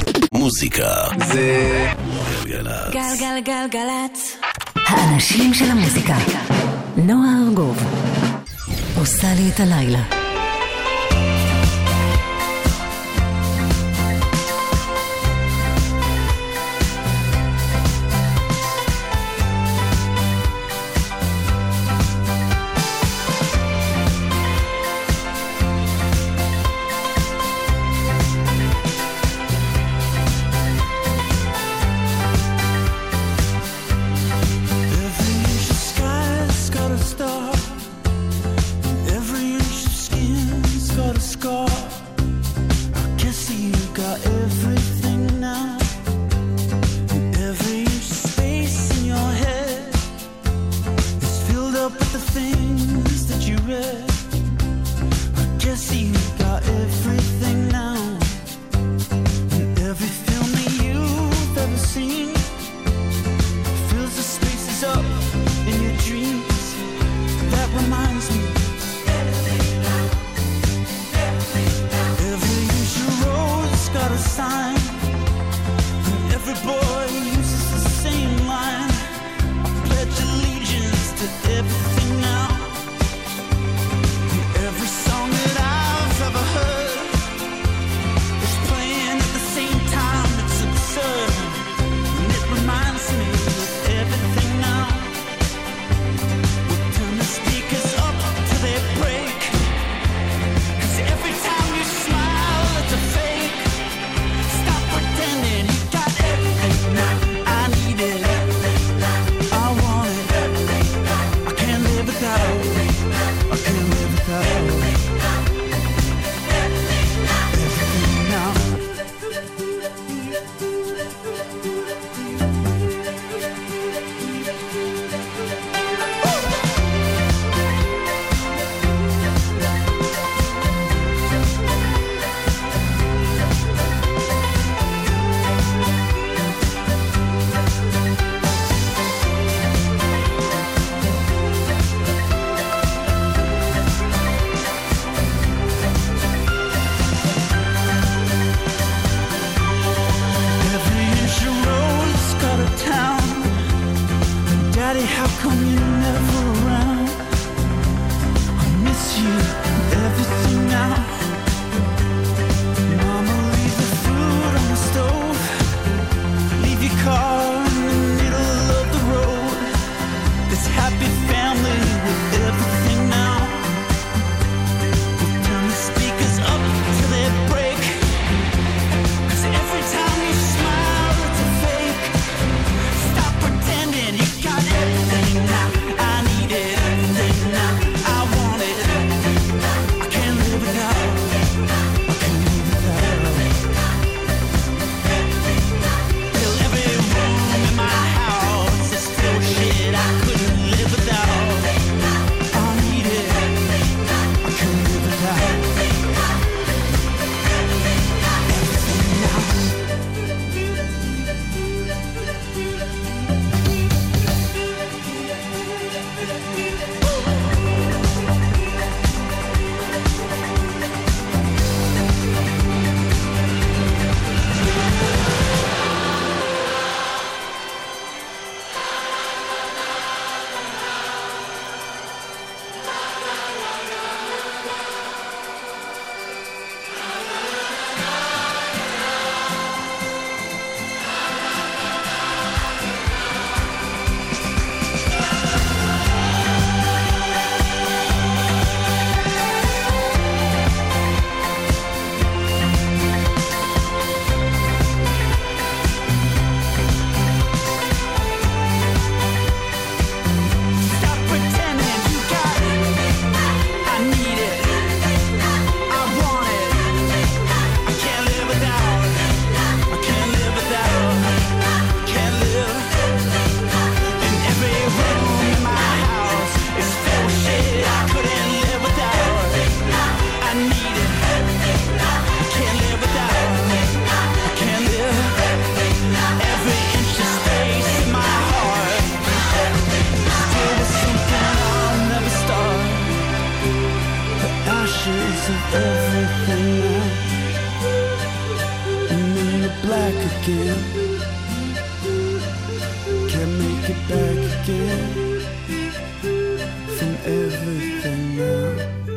מוזיקה זה גלגלצ. גלגלגלגלצ. האנשים של המוזיקה. נועה ארגוב עושה לי את הלילה. Every inch of sky has got a star. Every inch of skin black again. Can't make it back again from everything now.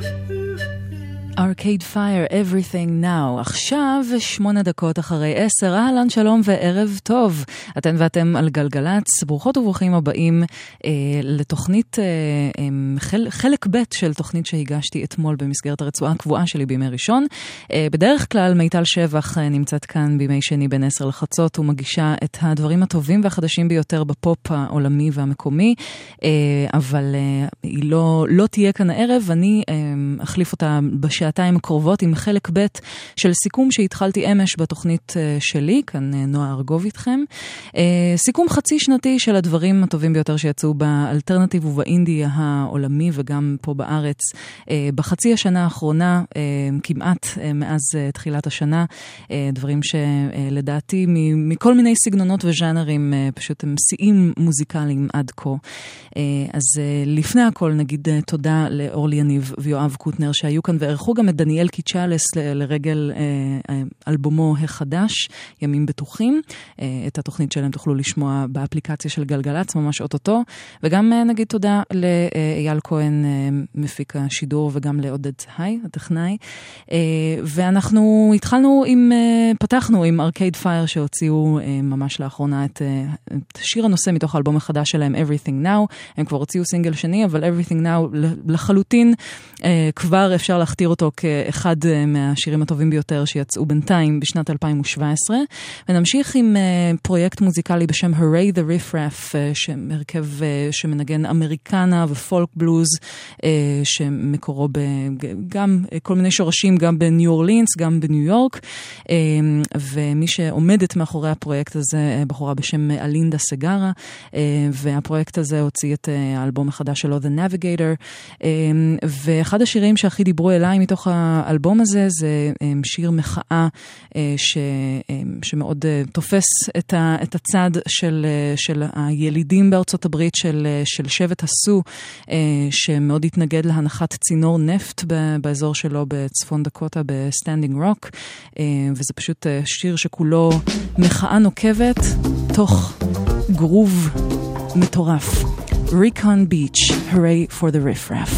Arcade Fire, Everything Now. עכשיו 8 דקות אחרי 10. אהלן, שלום וערב טוב. אתן ואתם על גלגלץ. ברוכות וברוכים הבאים לתוכנית, חלק ב' של תוכנית שהגשתי אתמול במסגרת הרצועה הקבועה שלי בימי ראשון. בדרך כלל מיטל שבח נמצאת כאן בימי שני בין 10 לחצות ומגישה את הדברים הטובים והחדשים ביותר בפופ העולמי והמקומי, אבל היא לא תהיה כאן הערב. אני אחליף אותה בשעתיים הקרובות עם חלק ב' של סיכום שהתחלתי אמש בתוכנית שלי, כאן נועה ארגוב איתכם. סיכום חצי שנתי של הדברים הטובים ביותר שיצאו באלטרנטיב ובאינדי העולמי וגם פה בארץ בחצי השנה האחרונה, כמעט מאז תחילת השנה, דברים שלדעתי מכל מיני סגנונות וז'אנרים פשוט הם שיאים מוזיקליים עד כה. אז לפני הכל נגיד תודה לאורלי יניב ויואב קוטנר שהיו כאן וערכו גם את דניאל קיצ'לס לרגל אלבומו החדש, ימים בטוחים. את התוכנית שלהם תוכלו לשמוע באפליקציה של גלגלץ, ממש אוטוטו. וגם נגיד תודה לאייל כהן, מפיק השידור, וגם לעודד היי, הטכנאי. ואנחנו פתחנו עם ארקייד פייר שהוציאו ממש לאחרונה את שיר הנושא מתוך האלבום החדש שלהם, Everything Now. הם כבר הוציאו סינגל שני, אבל Everything Now לחלוטין כבר אפשר להכתיר אותו כאחד מהשירים הטובים ביותר שיצאו בינתיים בשנת 2017. ונמשיך עם פרויקט מוזיקלי בשם Hooray the Riff-Raff, הרכב שמנגן אמריקנה ופולק בלוז, שמקורו גם כל מיני שורשים, גם בניו אורלינס, גם בניו יורק. ומי שעומדת מאחורי הפרויקט הזה, בחורה בשם אלינדה סגרה, והפרויקט הזה הוציא את האלבום החדש שלו, The Navigator. ואחד השירים שהכי דיברו אליי מתוך האלבום הזה, זה שיר מחאה שמאוד תופס את הצד של הילידים בארצות הברית, של שבט הסו, שמאוד התנגד להנחת צינור נפט באזור שלו בצפון דקוטה, בסטנדינג רוק. וזה פשוט שיר שכולו מחאה נוקבת, תוך גרוב מטורף. Recon Beach, Hooray for the Riff-Raff.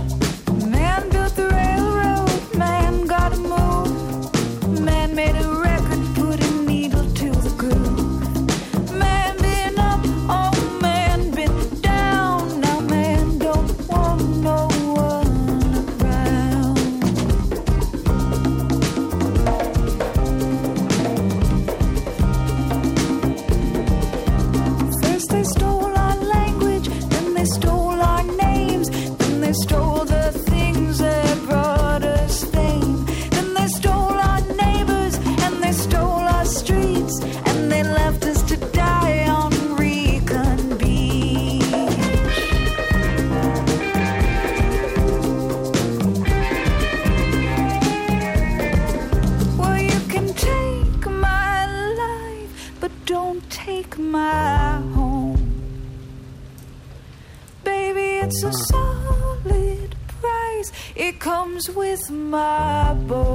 It's a solid price. It comes with my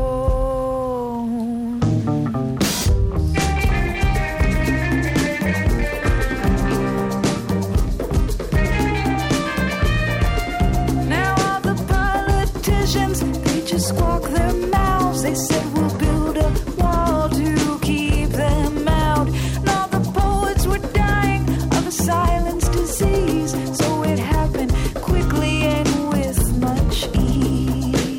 bone. Now all the politicians, they just squawk their mouths. They said we'll build a wall to keep them out. And all the poets were dying of a silence disease. So it happened quickly and with much ease.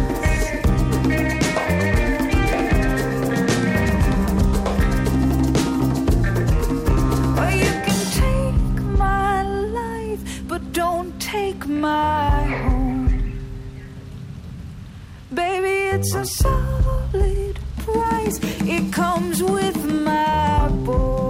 Well, you can take my life, but don't take my home. Baby, it's a solid price. It comes with my bones.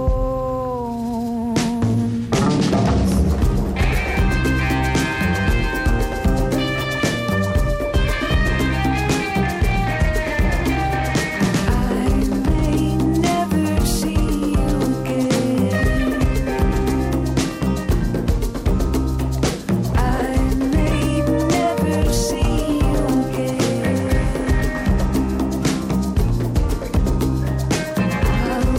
I'll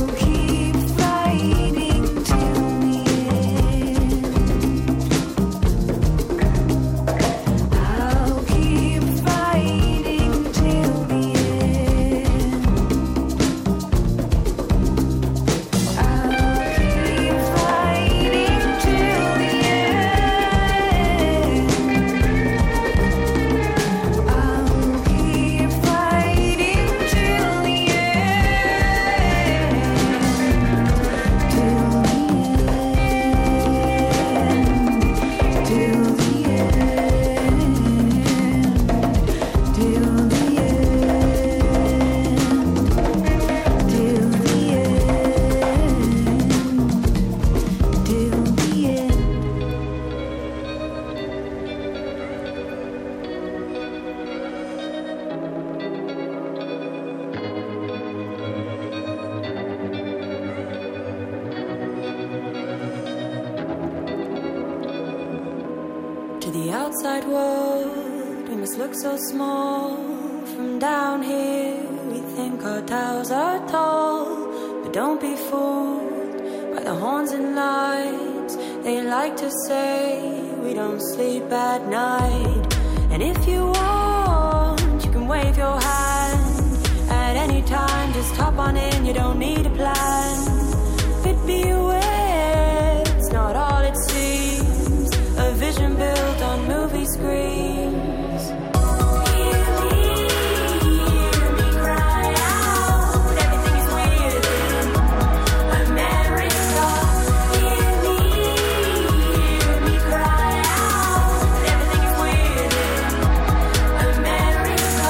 outside world, we must look so small. From down here, we think our towers are tall. But don't be fooled by the horns and lights. They like to say we don't sleep at night. And if you want, you can wave your hand at any time. Just hop on in, you don't need a plan. But beware, it's not all it seems. A vision built on movie screens. Hear me cry out. Everything is weird in America. Hear me cry out. Everything is weird in America.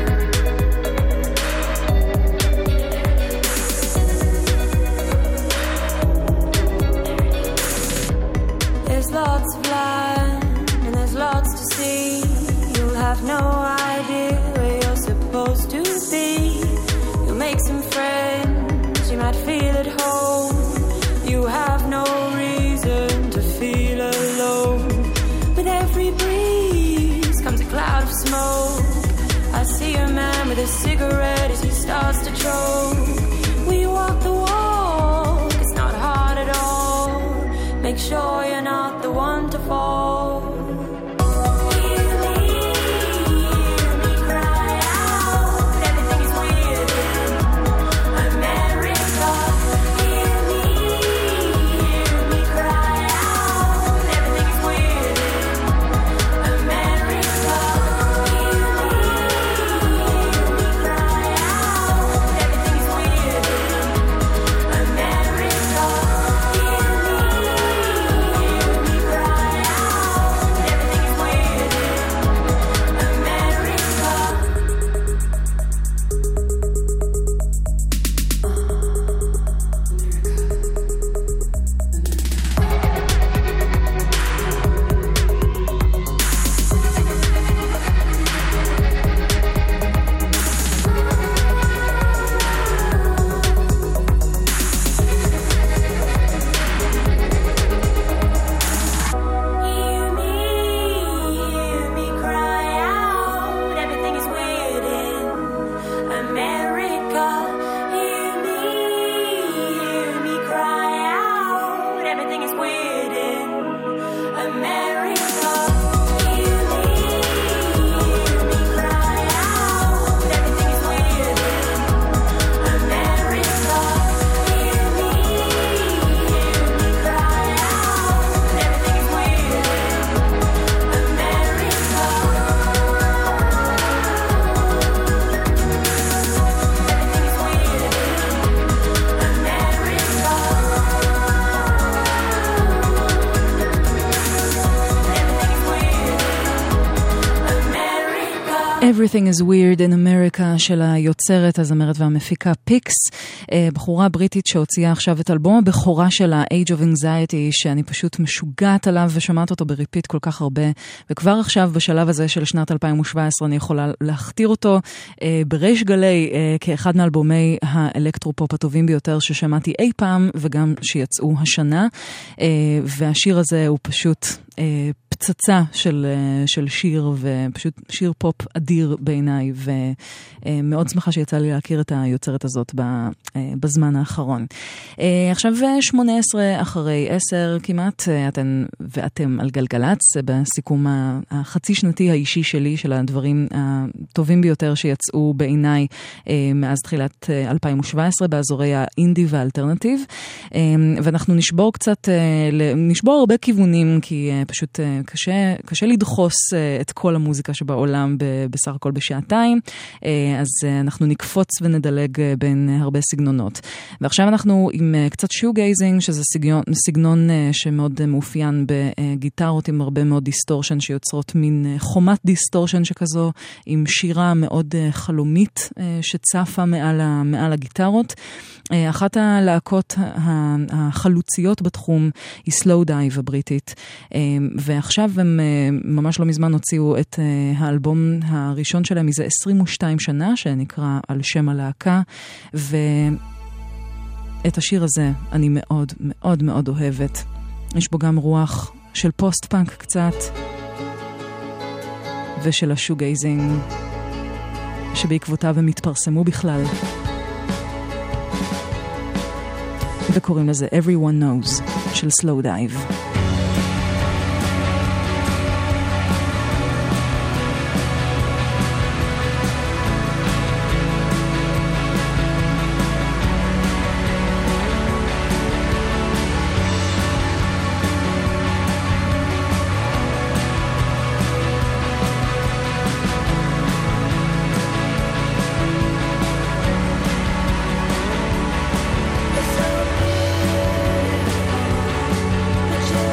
There's lots of land and there's lots to see. You'll have no idea where you're supposed to be. You'll make some friends, you might feel at home. You have no reason to feel alone. With every breeze comes a cloud of smoke. I see a man with a cigarette as he starts to choke. We walk the walk, it's not hard at all. Make sure you're not the one to fall. Hear me cry out. Everything is weird in America. Hear me cry out. Everything is weird in America. Hear me cry out. Everything is weird in America. Hear me cry out. Everything is weird in Hear me cry out. Everything is weird in America. Hear me cry out. Everything is weird in America. Hear me cry out. Everything is weird in America. Hear me cry out. Everything is weird Everything is weird in America של היוצרת, הזמרת והמפיקה פיקס, בחורה בריטית שהוציאה עכשיו את אלבום הבכורה שלה, Age of Anxiety, שאני פשוט משוגעת עליו ושומעת אותו בריפיט כל כך הרבה, וכבר עכשיו בשלב הזה של שנת 2017 אני יכולה להכתיר אותו בריש גלי כאחד מאלבומי האלקטרופופ הטובים ביותר ששמעתי אי פעם וגם שיצאו השנה, והשיר הזה הוא פשוט פצצה של שיר, ופשוט שיר פופ אדיר בעיניי, ומאוד שמחה שיצא לי להכיר את היוצרת הזאת בזמן האחרון. עכשיו 18 אחרי 10 כמעט, ואתם על גלגלץ, בסיכום החצי שנתי האישי שלי של הדברים הטובים ביותר שיצאו בעיניי מאז תחילת 2017 באזורי האינדי והאלטרנטיב, ואנחנו נשבור קצת, נשבור הרבה כיוונים, כי פשוט קשה לדחוס את כל המוזיקה שבעולם בסך הכל בשעתיים, אז אנחנו נקפוץ ונדלג בין הרבה סגנונות. ועכשיו אנחנו עם קצת שוגייזינג, שזה סגנון שמאוד מאופיין בגיטרות עם הרבה מאוד דיסטורשן, שיוצרות מין חומת דיסטורשן שכזו, עם שירה מאוד חלומית שצפה מעל הגיטרות. אחת הלהקות החלוציות בתחום היא סלואו דייב הבריטית, ועכשיו הם ממש לא מזמן הוציאו את האלבום הראשון שלהם מזה 22 שנה, שנקרא על שם הלהקה, ואת השיר הזה אני מאוד מאוד מאוד אוהבת. יש בו גם רוח של פוסט-פאנק קצת, ושל השוגייזינג, שבעקבותיו הם התפרסמו בכלל. וקוראים לזה Everyone Knows של Slow Dive. But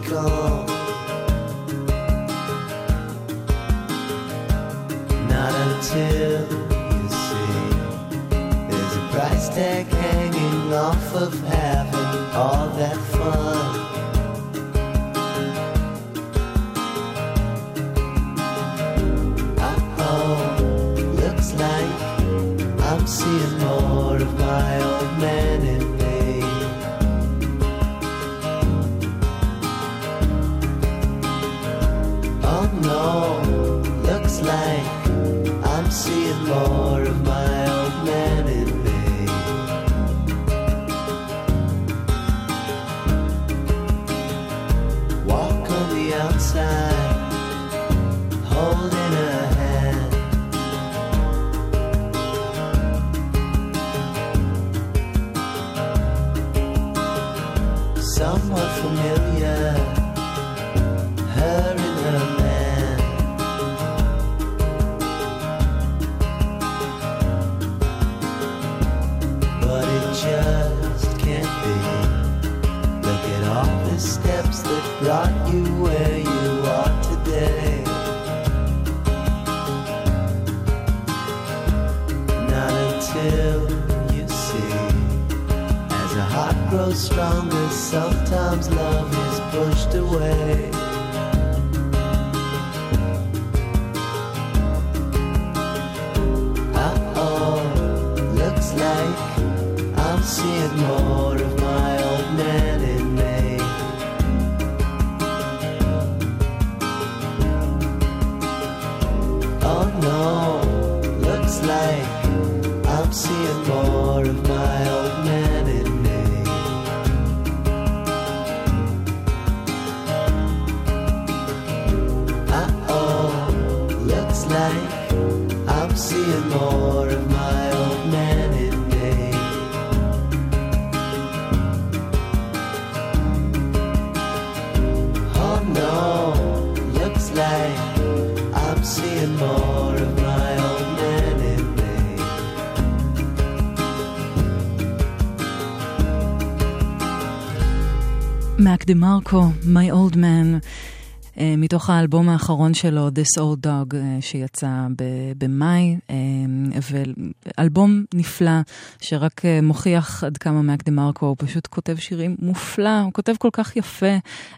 gone. Not until you see there's a price tag hanging off of having all that fun. Looks like I'm seeing more of my old man in me. Oh no, looks like I'm seeing more of my old man in me. Walk on the outside, holding a hand. Somewhat familiar, her and her man. But it just can't be. Look at all the steps that brought you where you are today. Not until you see, as a heart grows stronger, sometimes love is pushed away. Looks like I'm seeing more of my old man in me. Oh no, looks like I'm seeing more of my old man in me. Looks like I'm seeing more of my old man in me. Oh no, looks like I'm seeing more of my old man in me. Mac DeMarco, My Old Man, מתוך האלבום האחרון שלו, This Old Dog, שיצא במאי, ואלבום נפלא, שרק מוכיח עד כמה מאק דה מרקו, הוא פשוט כותב שירים מופלא, הוא כותב כל כך יפה,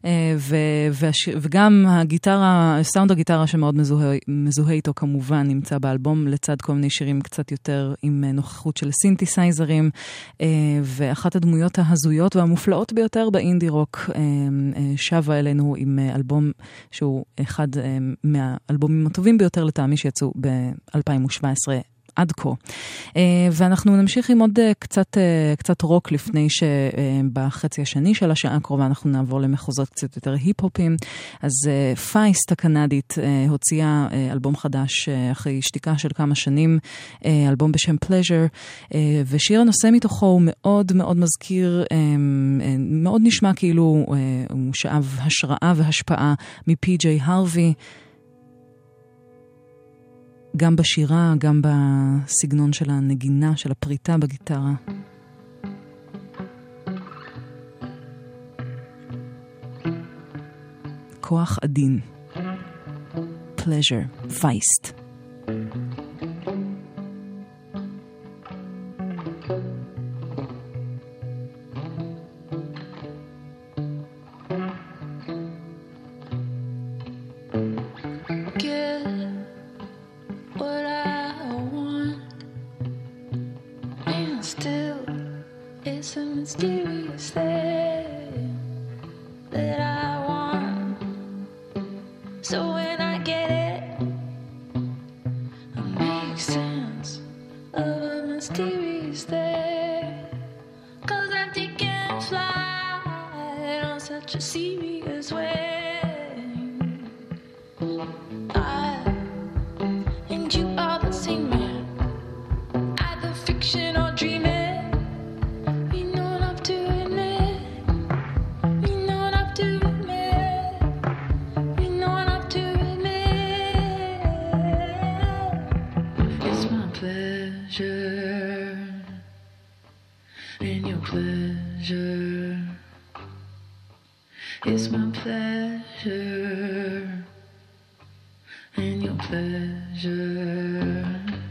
וגם הגיטרה, סאונד הגיטרה שמאוד מזוהה איתו כמובן, נמצא באלבום, לצד כל מיני שירים קצת יותר עם נוכחות של סינתסייזרים, ואחת הדמויות ההזויות והמופלאות ביותר באינדי רוק, שבה אלינו עם אלבום שהוא אחד מהאלבומים הטובים ביותר לטעמי שיצאו ב-2017 עד כה. ואנחנו נמשיך עם עוד קצת רוק לפני שבחצי השני של השעה הקרובה אנחנו נעבור למחוזות קצת יותר היפ-הופים. אז פייסט הקנדית הוציאה אלבום חדש אחרי שתיקה של כמה שנים, אלבום בשם Pleasure, ושיר הנושא מתוכו הוא מאוד מאוד מזכיר, מאוד נשמע כאילו הוא שאב השראה והשפעה מפי.ג'יי הרווי, גם בשירה, גם בסגנון של הנגינה, של הפריטה בגיטרה. כוח עדין. Pleasure, Feist. To It's my pleasure and your pleasure.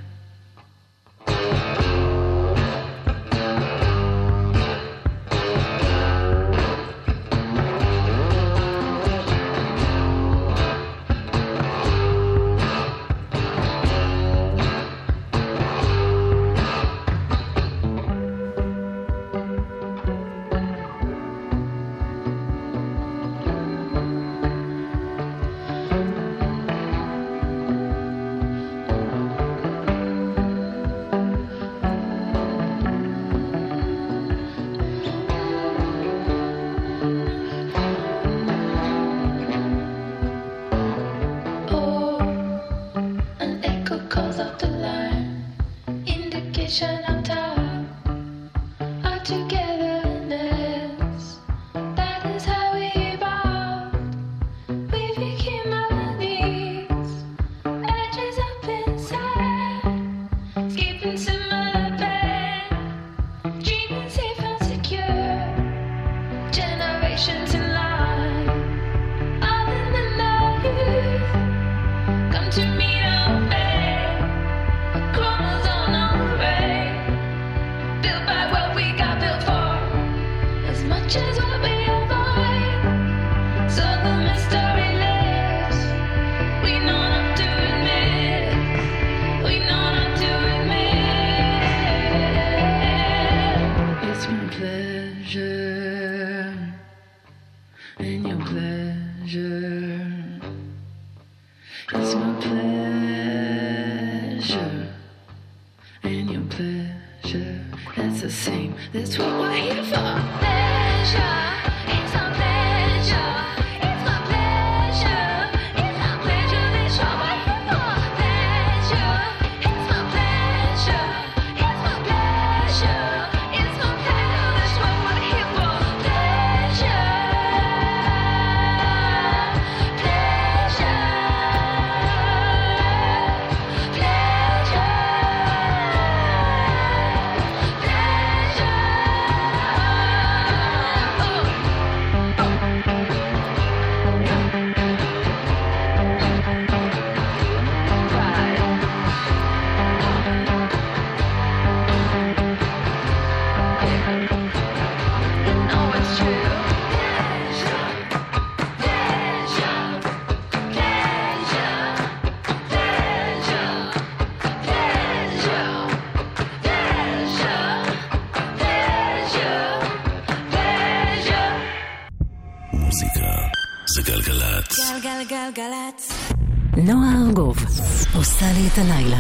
גלגלצ. נועה ארגוב עושה לי את הלילה.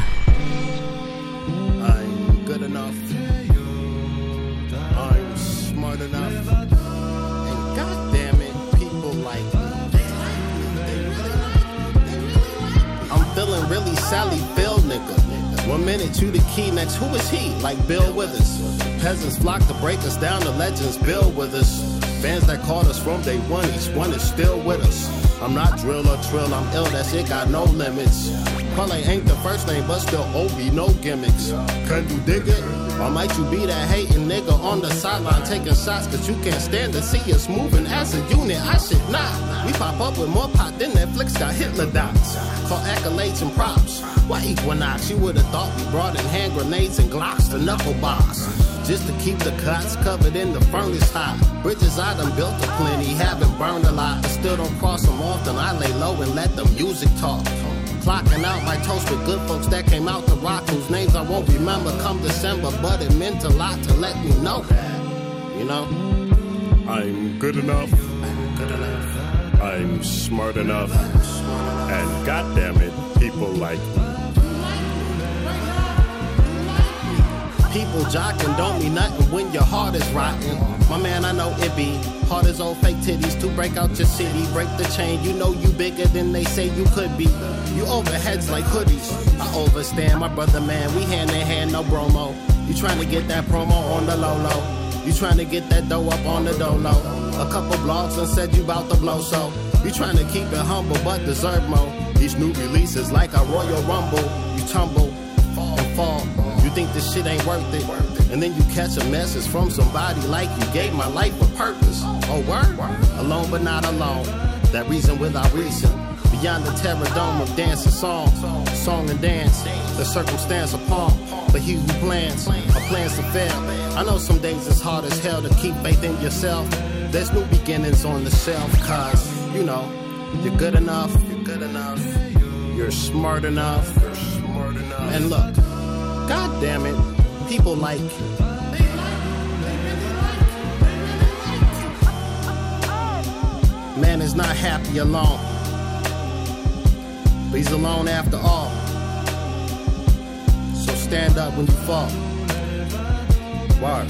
I'm good enough. I'm smart enough. And goddamn it, people like me. I'm feeling really Sally Bill, nigga. 1 minute you the key, next who is he? Like Bill Withers. Peasants flock to break us down, the legends build with us. Fans that called us from day one, each one is still with us. I'm not drill or trill, I'm ill, that shit got no limits. Probably ain't the first name, but still OB, no gimmicks. Can you dig it? Or might you be that hating nigga on the sideline taking shots, cause you can't stand to see us moving as a unit? I should not. We pop up with more pot than Netflix got Hitler docs. Call accolades and props. Why Equinox? You would've thought we brought in hand grenades and Glocks to knuckle box. Just to keep the cots covered in the furnace hot. Bridges I done built a plenty, haven't burned a lot, but still don't cross them often. I lay low and let the music talk. Clocking out my toast with good folks that came out to rock, whose names I won't remember come December, but it meant a lot to let me know that, you know? I'm good enough. I'm smart enough. And goddamn it, people like me. People jocking don't mean nothing when your heart is rotten. My man, I know it be hard as old fake titties to break out your city, break the chain. You know you bigger than they say you could be. You overheads like hoodies. I overstand, my brother man. We hand in hand, no bromo. You trying to get that promo on the low low. You trying to get that dough up on the dolo. A couple blogs and said you bout to blow, so you trying to keep it humble but deserve more. Each new release is like a Royal Rumble. You tumble and fall. You think this shit ain't worth it, and then you catch a message from somebody like you gave my life a purpose. Oh, word? Alone but not alone. That reason without reason. Beyond the terror dome of dance and song and dance, the circumstance upon. But he who plans to fail. I know some days it's hard as hell to keep faith in yourself. There's new beginnings on the shelf, cause, you know, you're good enough, you're smart enough, and look, god damn it, people like you. Man is not happy alone, but he's alone after all. So stand up when you fall. Word.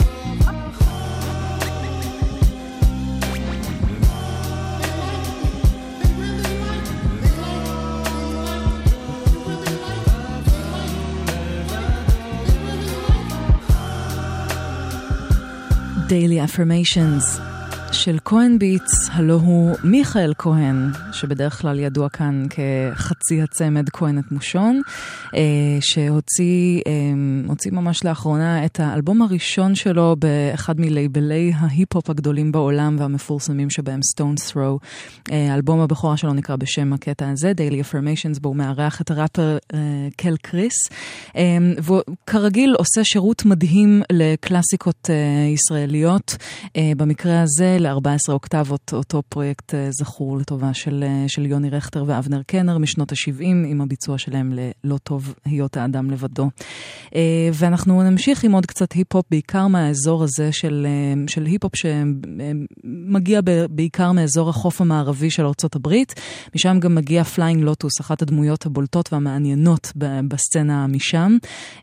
Daily Affirmations של כהן ביטס, הלא הוא מיכאל כהן, שבדרך כלל ידוע כאן כחצי הצמד כהן את מושון, שהוציא ממש לאחרונה את האלבום הראשון שלו באחד מלייבלי ההיפ-הופ הגדולים בעולם והמפורסמים שבהם Stone's Throw. האלבום הבכורה שלו נקרא בשם הקטע הזה, Daily Affirmations, בו הוא מארח את הראפר קל קריס, וכרגיל עושה שירות מדהים לקלאסיקות ישראליות. במקרה הזה ל-14 אוקטבות, אותו פרויקט זכור לטובה של יוני רכטר ואבנר קנר משנות ה-70, עם הביצוע שלהם ללא טוב היות האדם לבדו. ואנחנו נמשיך עם עוד קצת היפ-הופ, בעיקר מהאזור הזה של היפ-הופ שמגיע בעיקר מאזור החוף המערבי של ארצות הברית. משם גם מגיע פליינג לוטוס, אחת הדמויות הבולטות והמעניינות בסצנה משם,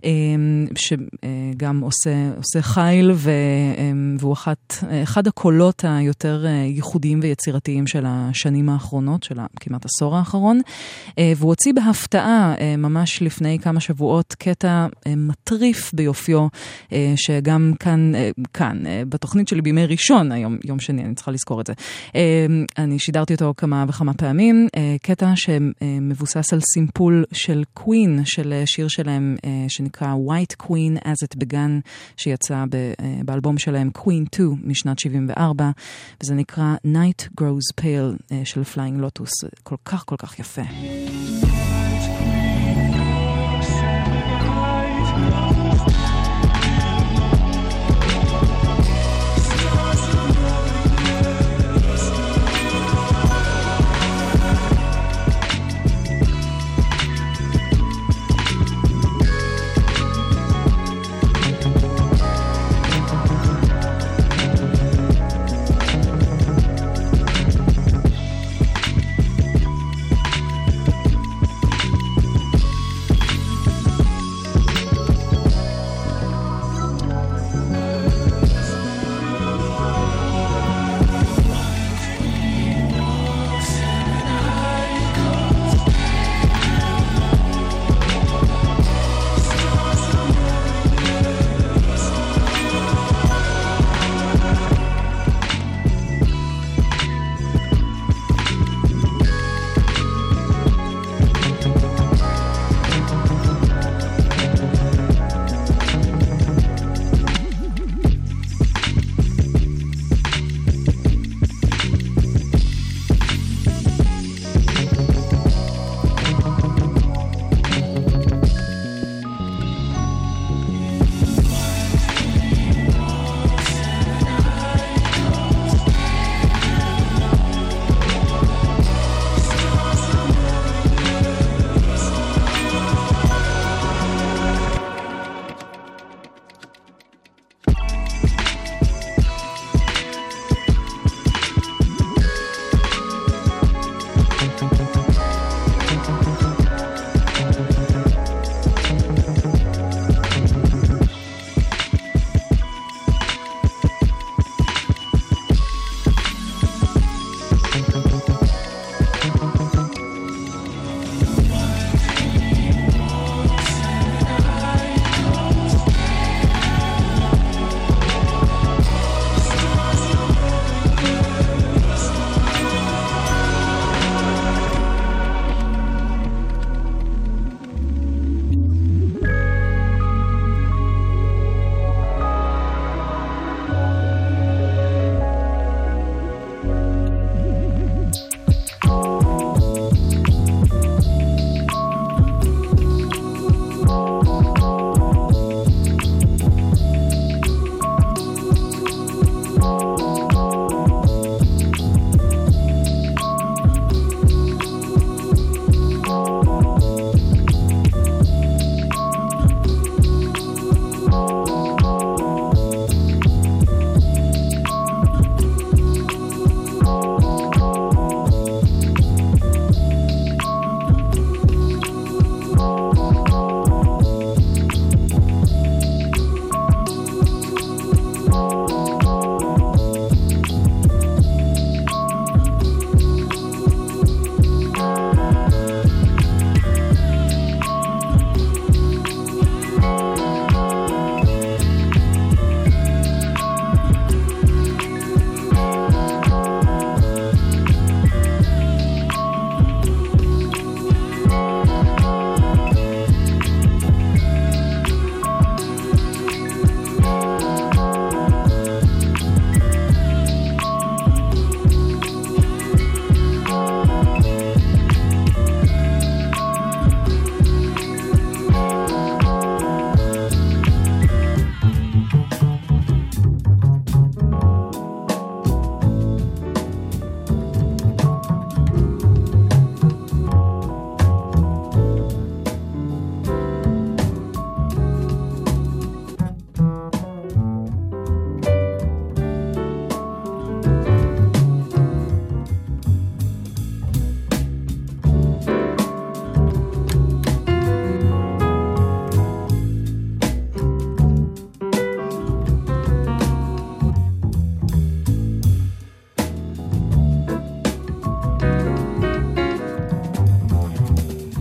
שגם עושה חייל, והוא אחד הקולות היותר ייחודיים ויצירתיים של השנים האחרונות, של כמעט עשור האחרון, והוא הוציא בהפתעה ממש לפני כמה שבועות קטע מטריף ביופיו, שגם כאן בתוכנית שלי בימי ראשון, היום יום שני, אני צריכה לזכור את זה, אני שידרתי אותו כמה וכמה פעמים, קטע שמבוסס על סימפול של קווין, של שיר שלהם שנקרא White Queen as it began, שיצא באלבום שלהם Queen 2 משנת 74, וזה נקרא Night Grows Pale של Flying Lotus. כל כך כל כך יפה.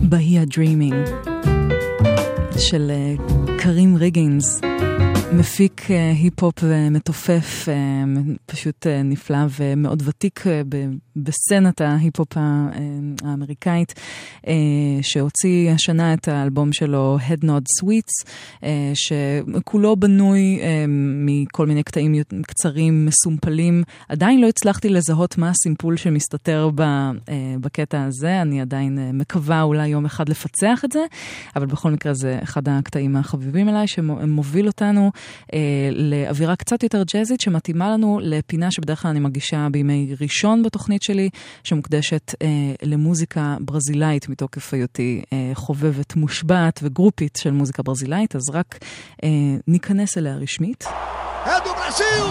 בהיה דרימינג של קרים ריגינס, מפיק היפ-הופ מתופף, פשוט נפלא ומאוד ותיק בסצנת ההיפ-הופ האמריקאית, שהוציא השנה את האלבום שלו Head Nod Sweets, שכולו בנוי מכל מיני קטעים קצרים, מסומפלים. עדיין לא הצלחתי לזהות מה הסימפול שמסתתר בקטע הזה, אני עדיין מקווה אולי יום אחד לפצח את זה, אבל בכל מקרה זה אחד הקטעים החביבים אליי, שמוביל אותנו לאווירה קצת יותר ג'אזית, שמתאימה לנו לפינה שבדרך כלל אני מגישה בימי ראשון בתוכנית שלי, שמוקדשת למוזיקה ברזילאית מתוקף היותי חובבת מושבעת וגרופית של מוזיקה ברזילאית, אז רק ניכנס אליה רשמית. אדו ברזיל!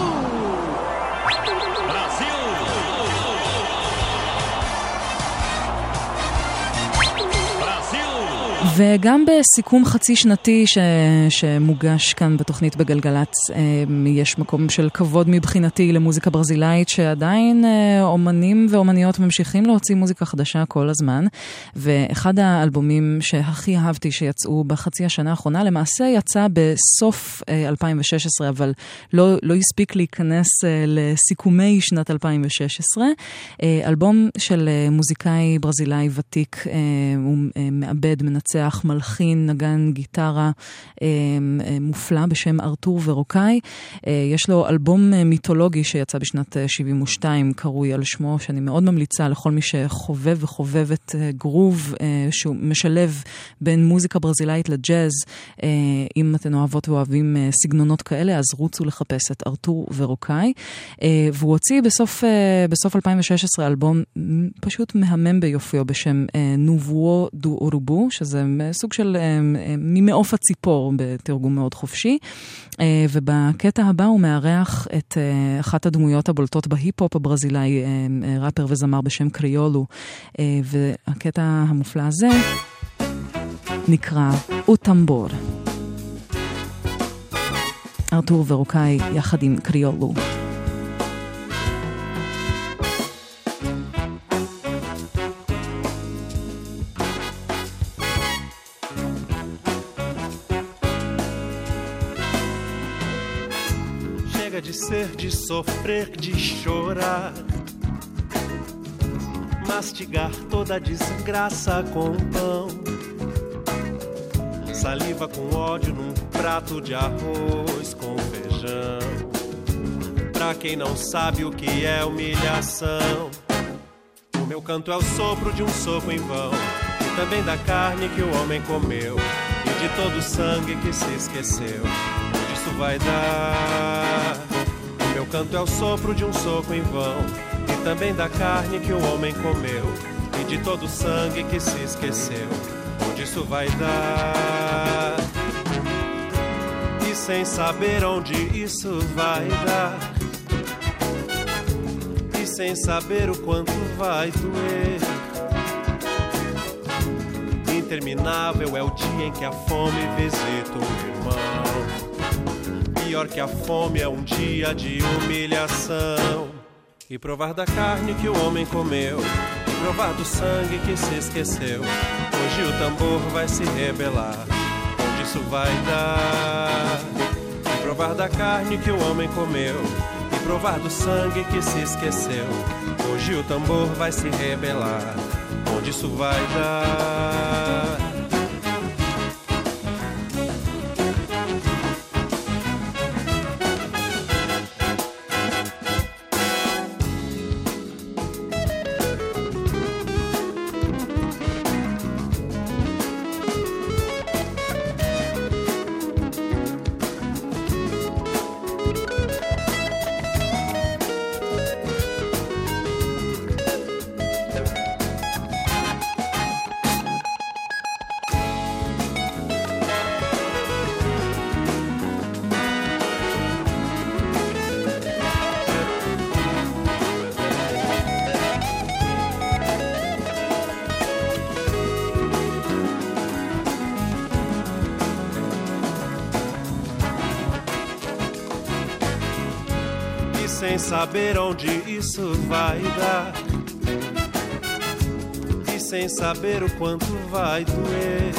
וגם בסיכום חצי שנתי שמוגש כאן בתוכנית בגלגלץ, יש מקום של כבוד מבחינתי למוזיקה ברזילאית, שעדיין אומנים ואומניות ממשיכים להוציא מוזיקה חדשה כל הזמן, ואחד האלבומים שהכי אהבתי שיצאו בחצי השנה האחרונה, למעשה יצא בסוף 2016, אבל לא הספיק להיכנס לסיכומי שנת 2016, אלבום של מוזיקאי ברזילאי ותיק, הוא מעבד, מנצח, מלחין, נגן גיטרה מופלא בשם ארתור ורוקאי. יש לו אלבום מיתולוגי שיצא בשנת 72, קרוי על שמו, שאני מאוד ממליצה לכל מי שחובב וחובבת גרוב, שהוא משלב בין מוזיקה ברזילאית לג'אז. אם אתן אוהבות ואוהבים סגנונות כאלה, אז רוצו לחפש את ארתור ורוקאי. והוא הוציא בסוף 2016 אלבום פשוט מהמם ביופיו בשם נובואו דו אורובו, שזה סוג של ממעוף הציפור בתרגום מאוד חופשי, ובקטע הבא הוא מארח את אחת הדמויות הבולטות בהיפ-הופ הברזילאי, ראפר וזמר בשם קריולו, והקטע המופלא הזה נקרא אוטמבור. ארתור ורוקאי יחד עם קריולו. De ser, de sofrer, de chorar, mastigar toda a desgraça com pão, saliva com ódio num prato de arroz com feijão. Pra quem não sabe o que é humilhação, o meu canto é o sopro de um soco em vão, e também da carne que o homem comeu, e de todo o sangue que se esqueceu. Isso vai dar. Meu canto é o sopro de um soco em vão, e também da carne que o homem comeu, e de todo o sangue que se esqueceu. Onde isso vai dar? E sem saber onde isso vai dar, e sem saber o quanto vai doer. Interminável é o dia em que a fome visita o irmão. Pior que a fome é um dia de humilhação. E provar da carne que o homem comeu, e provar do sangue que se esqueceu. Hoje o tambor vai se rebelar. Onde isso vai dar? E provar da carne que o homem comeu, e provar do sangue que se esqueceu. Hoje o tambor vai se rebelar. Onde isso vai dar? Sem saber onde isso vai dar, e sem saber o quanto vai doer.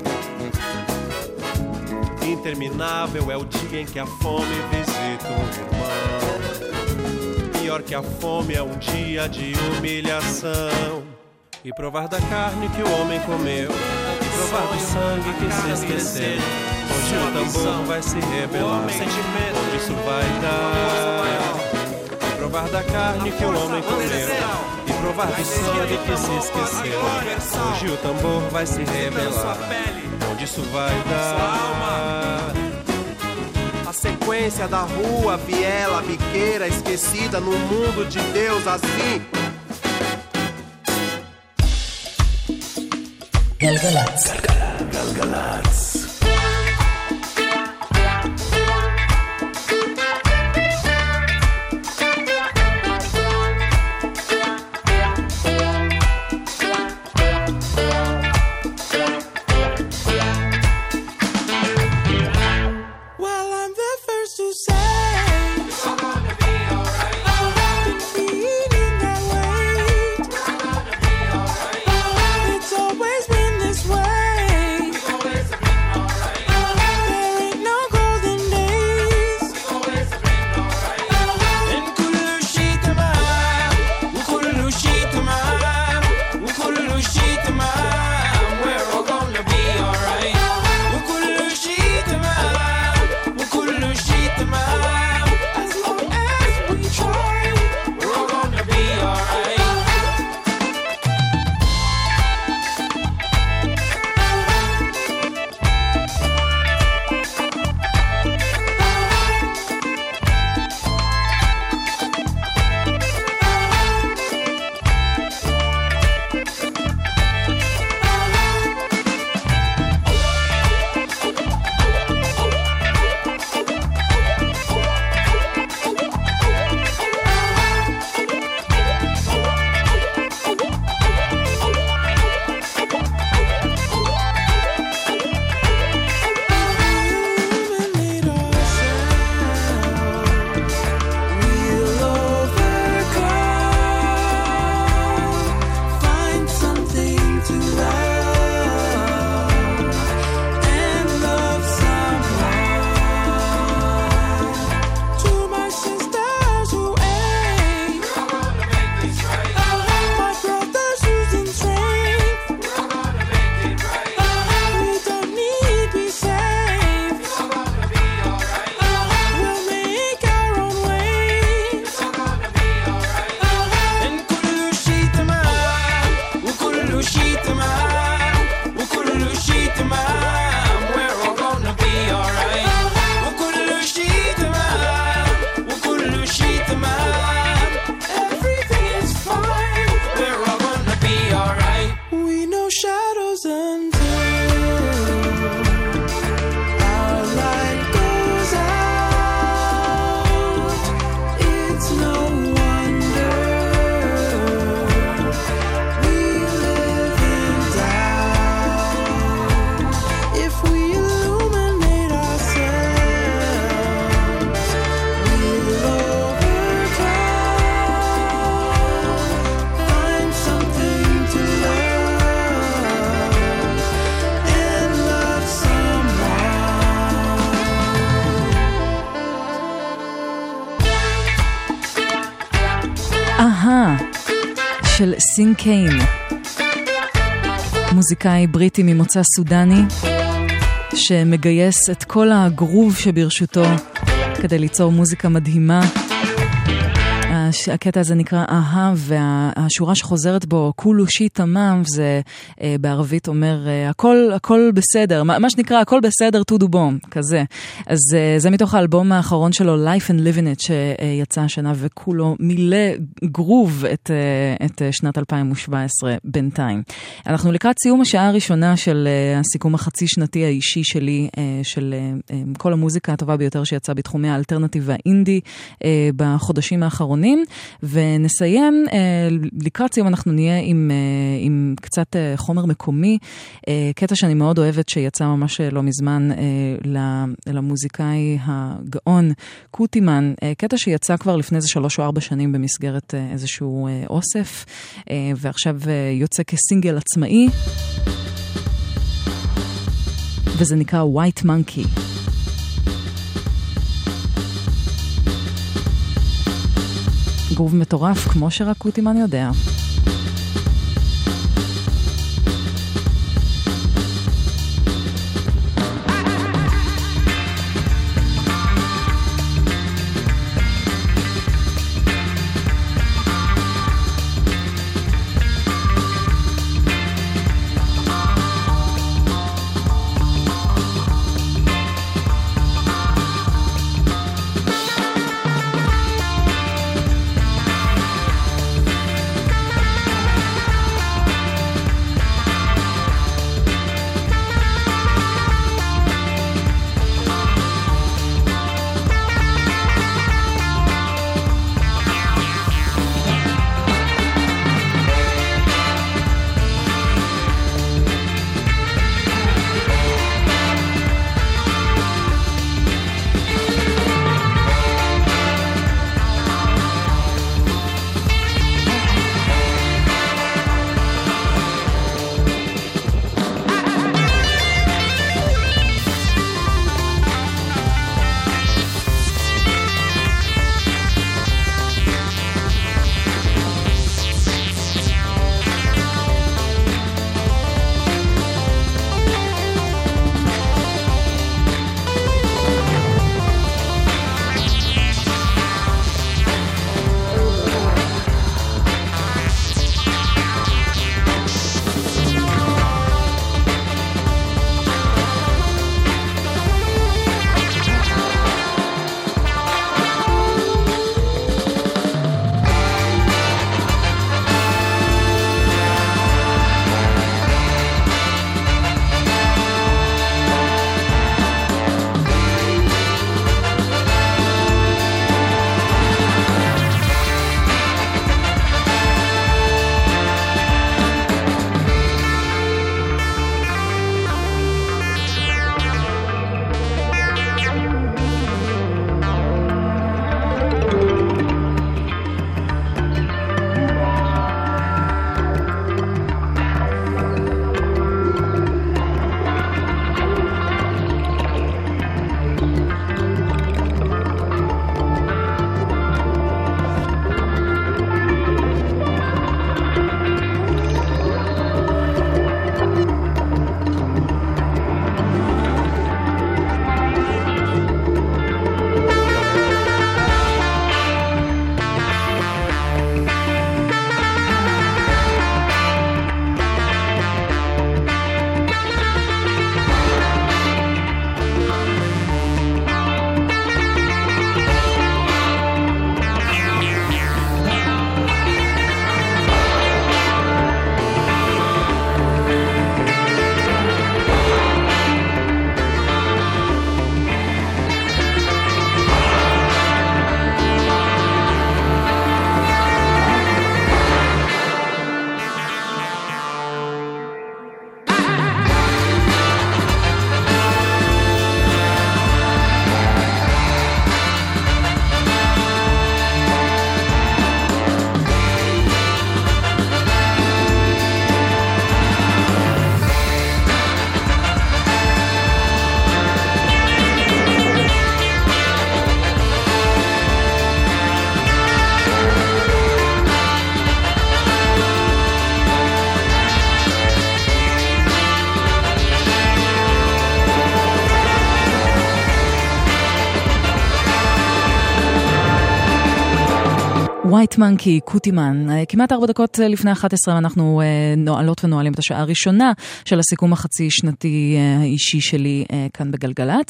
Interminável é o dia em que a fome visita um irmão. Pior que a fome é um dia de humilhação. E provar da carne que o homem comeu, e provar do sangue que se esqueceu. Hoje o tambor vai se rebelar, onde isso vai dar. E provar da carne que o homem comeu, e provar do sangue que se esqueceu. Hoje o tambor vai se rebelar, onde isso vai dar. A sequência da rua, viela, biqueira, esquecida no mundo de Deus assim. גלגלצ. גלגלצ. של סין קיין, מוזיקאי בריטי ממוצא סודני שמגייס את כל הגרוב שברשותו כדי ליצור מוזיקה מדהימה. הקטע הזה נקרא אהה, והשורה שחוזרת בו כולו שי תמם, זה בערבית אומר הכל בסדר, מה שנקרא הכל בסדר טודו בום, כזה. אז זה מתוך האלבום האחרון שלו, Life and Living It, שיצא השנה וכולו מילא גרוב את שנת 2017 בינתיים. אנחנו לקראת סיום השעה הראשונה של הסיכום החצי שנתי האישי שלי, של כל המוזיקה הטובה ביותר שיצא בתחומי האלטרנטיב והאינדי בחודשים האחרונים. המוזיקאים, ונסיים, לקראת סיום אנחנו נהיה עם קצת חומר מקומי, קטע שאני מאוד אוהבת שיצא ממש לא מזמן למוזיקאי הגאון קוטימן, קטע שיצא כבר לפני איזה 3 או 4 שנים במסגרת איזשהו אוסף, ועכשיו יוצא כסינגל עצמאי, וזה נקרא White Monkey. גרוב מטורף, כמו שרק קוטימן יודע. White Monkey, קוטימן. כמעט 4 דקות לפני 11 אנחנו נועלות ונועלים את השעה הראשונה של הסיכום החצי שנתי האישי שלי כאן בגלגלץ.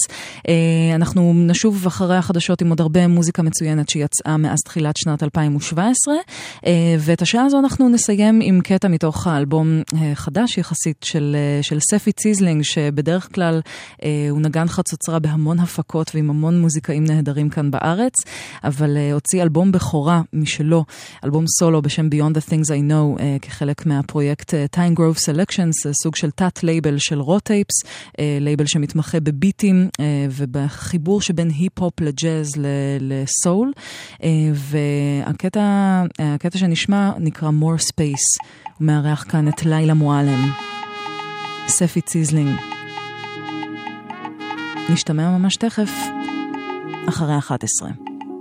אנחנו נשוב אחרי החדשות עם עוד הרבה מוזיקה מצוינת שיצאה מאז תחילת שנת 2017, ואת השעה הזו אנחנו נסיים עם קטע מתוך האלבום חדש יחסית של ספי ציזלינג, שבדרך כלל הוא נגן חצוצרה בהמון הפקות ועם המון מוזיקאים נהדרים כאן בארץ, אבל הוציא אלבום בכורה משלו משלו, אלבום סולו בשם Beyond the Things I Know, כחלק מהפרויקט Time Grove Selections, סוג של תת לייבל של רוטייפס, לייבל שמתמחה בביטים ובחיבור שבין היפ-הופ לג'אז לסול, והקטע שנשמע נקרא More Space, הוא מארח כאן את לילה מועלם, ספי ציזלינג. נשתמע ממש תכף, אחרי 11.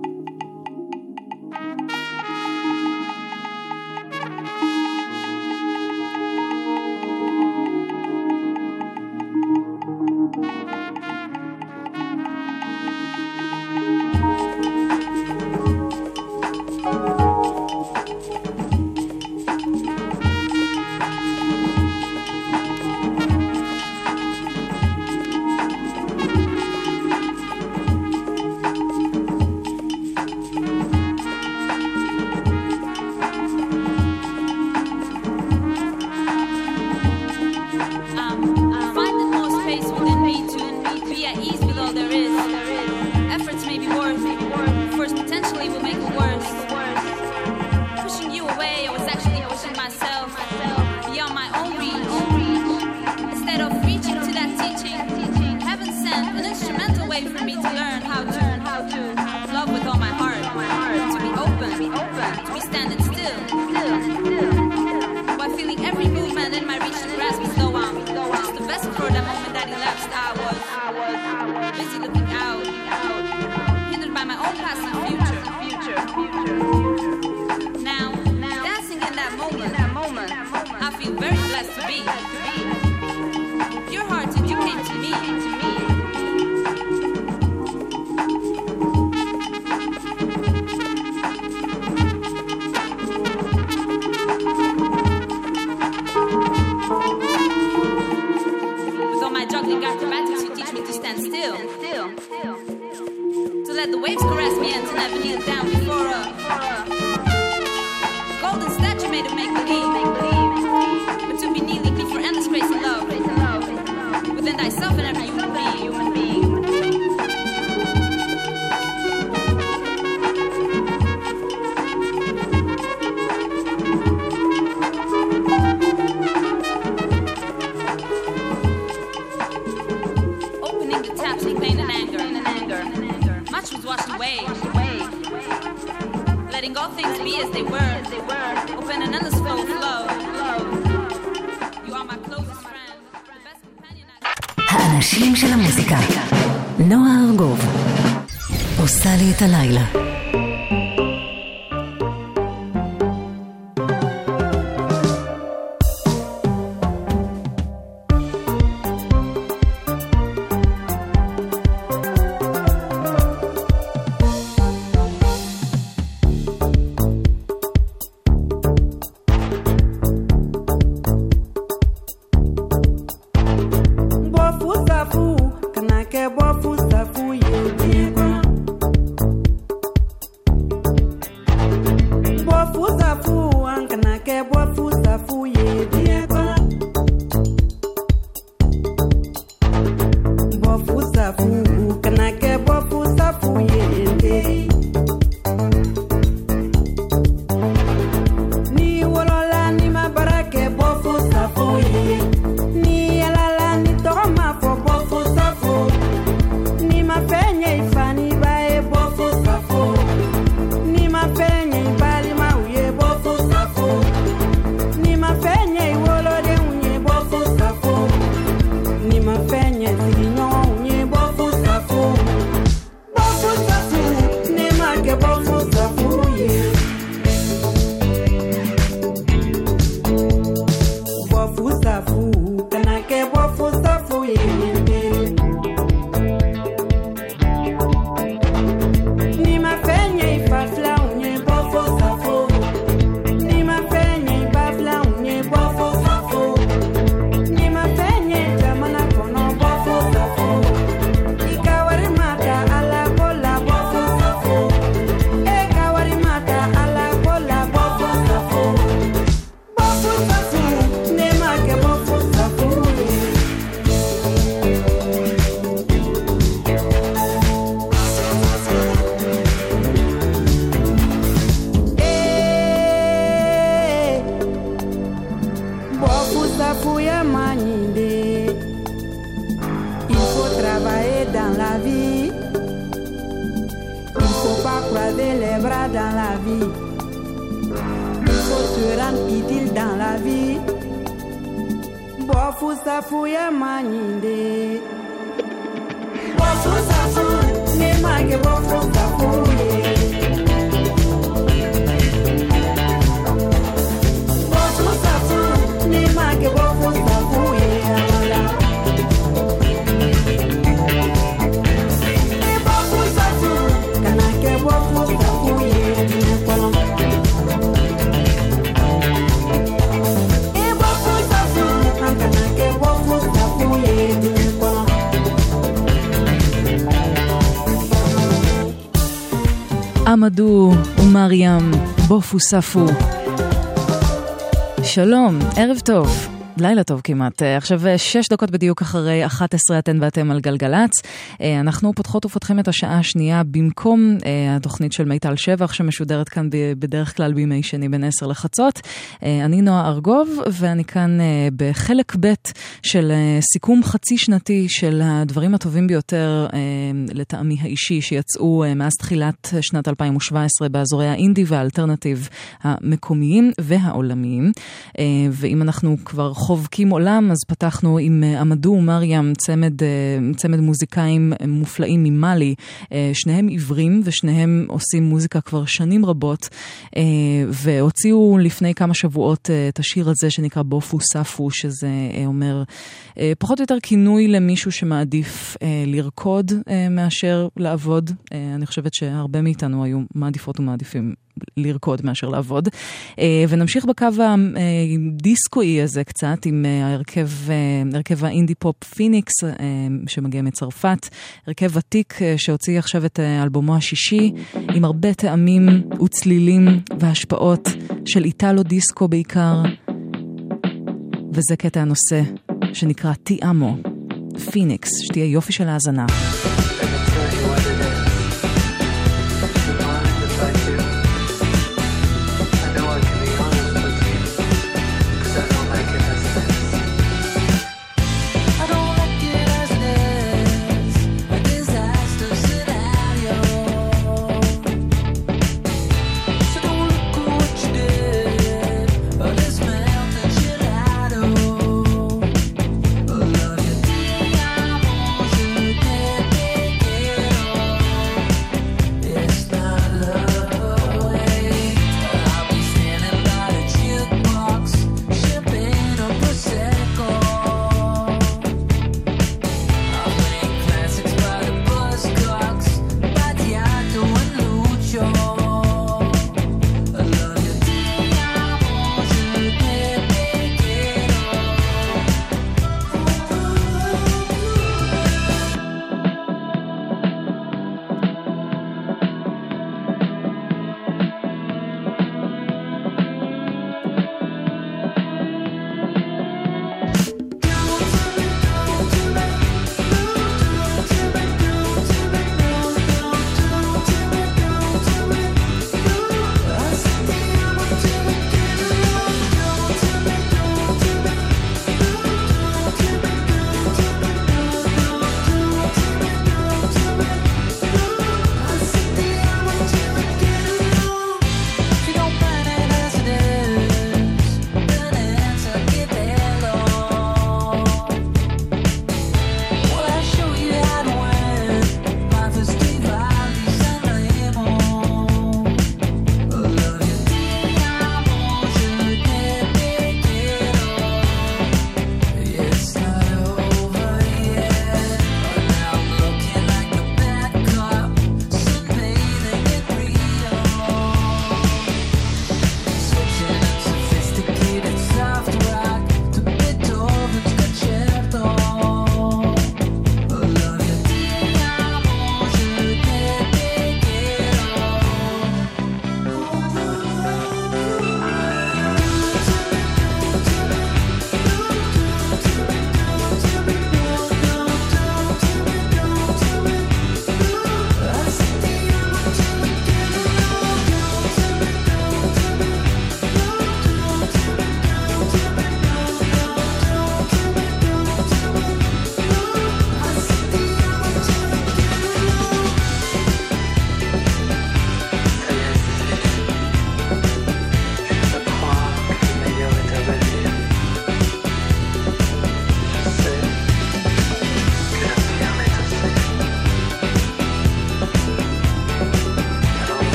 האנשים של המוזיקה. נועה ארגוב עושה לי את הלילה. Fusafu lever les bras dans la vie. Il faut se rendre utile dans la vie. Bofu safuya maninde. Bofu safu, ne mage bofu safuye. Bofu safu, ne mage bofu safuye. Bofu safu, kanake bofu safuye. עמדו ומרים, בופו ספו. שלום, ערב טוב. לילה טוב כמעט. עכשיו 6 דקות בדיוק אחרי 11 אתן ואתם על גלגלץ. אנחנו פותחות ופותחים את השעה השנייה במקום התוכנית של מיטל שבח שמשודרת כאן בדרך כלל בימי שני בין 10 לחצות. אני נועה ארגוב ואני כאן בחלק ב' של סיכום חצי שנתי של הדברים הטובים ביותר לטעמי האישי שיצאו מאז תחילת שנת 2017 באזורי האינדי והאלטרנטיב המקומיים והעולמיים. ואם אנחנו כבר חובקים עולם, אז פתחנו עם עמדו ומרים, צמד מוזיקאים מופלאים ממאלי, שניהם עיוורים ושניהם עושים מוזיקה כבר שנים רבות, והוציאו לפני כמה שבועות את השיר הזה שנקרא בופו ספו, שזה אומר פחות או יותר כינוי למישהו שמעדיף לרקוד מאשר לעבוד. אני חושבת שהרבה מאיתנו היו מעדיפות ומעדיפים לרקוד מאשר לעבוד. ונמשיך בקו הדיסקואי הזה קצת עם הרכב האינדי פופ פיניקס שמגיע מצרפת, הרכב ותיק שהוציא עכשיו את אלבומו השישי עם הרבה טעמים וצלילים והשפעות של איטלו דיסקו בעיקר, וזה קטע הנושא שנקרא טי אמו, פיניקס. שתהיה יופי של האזנה. Love you,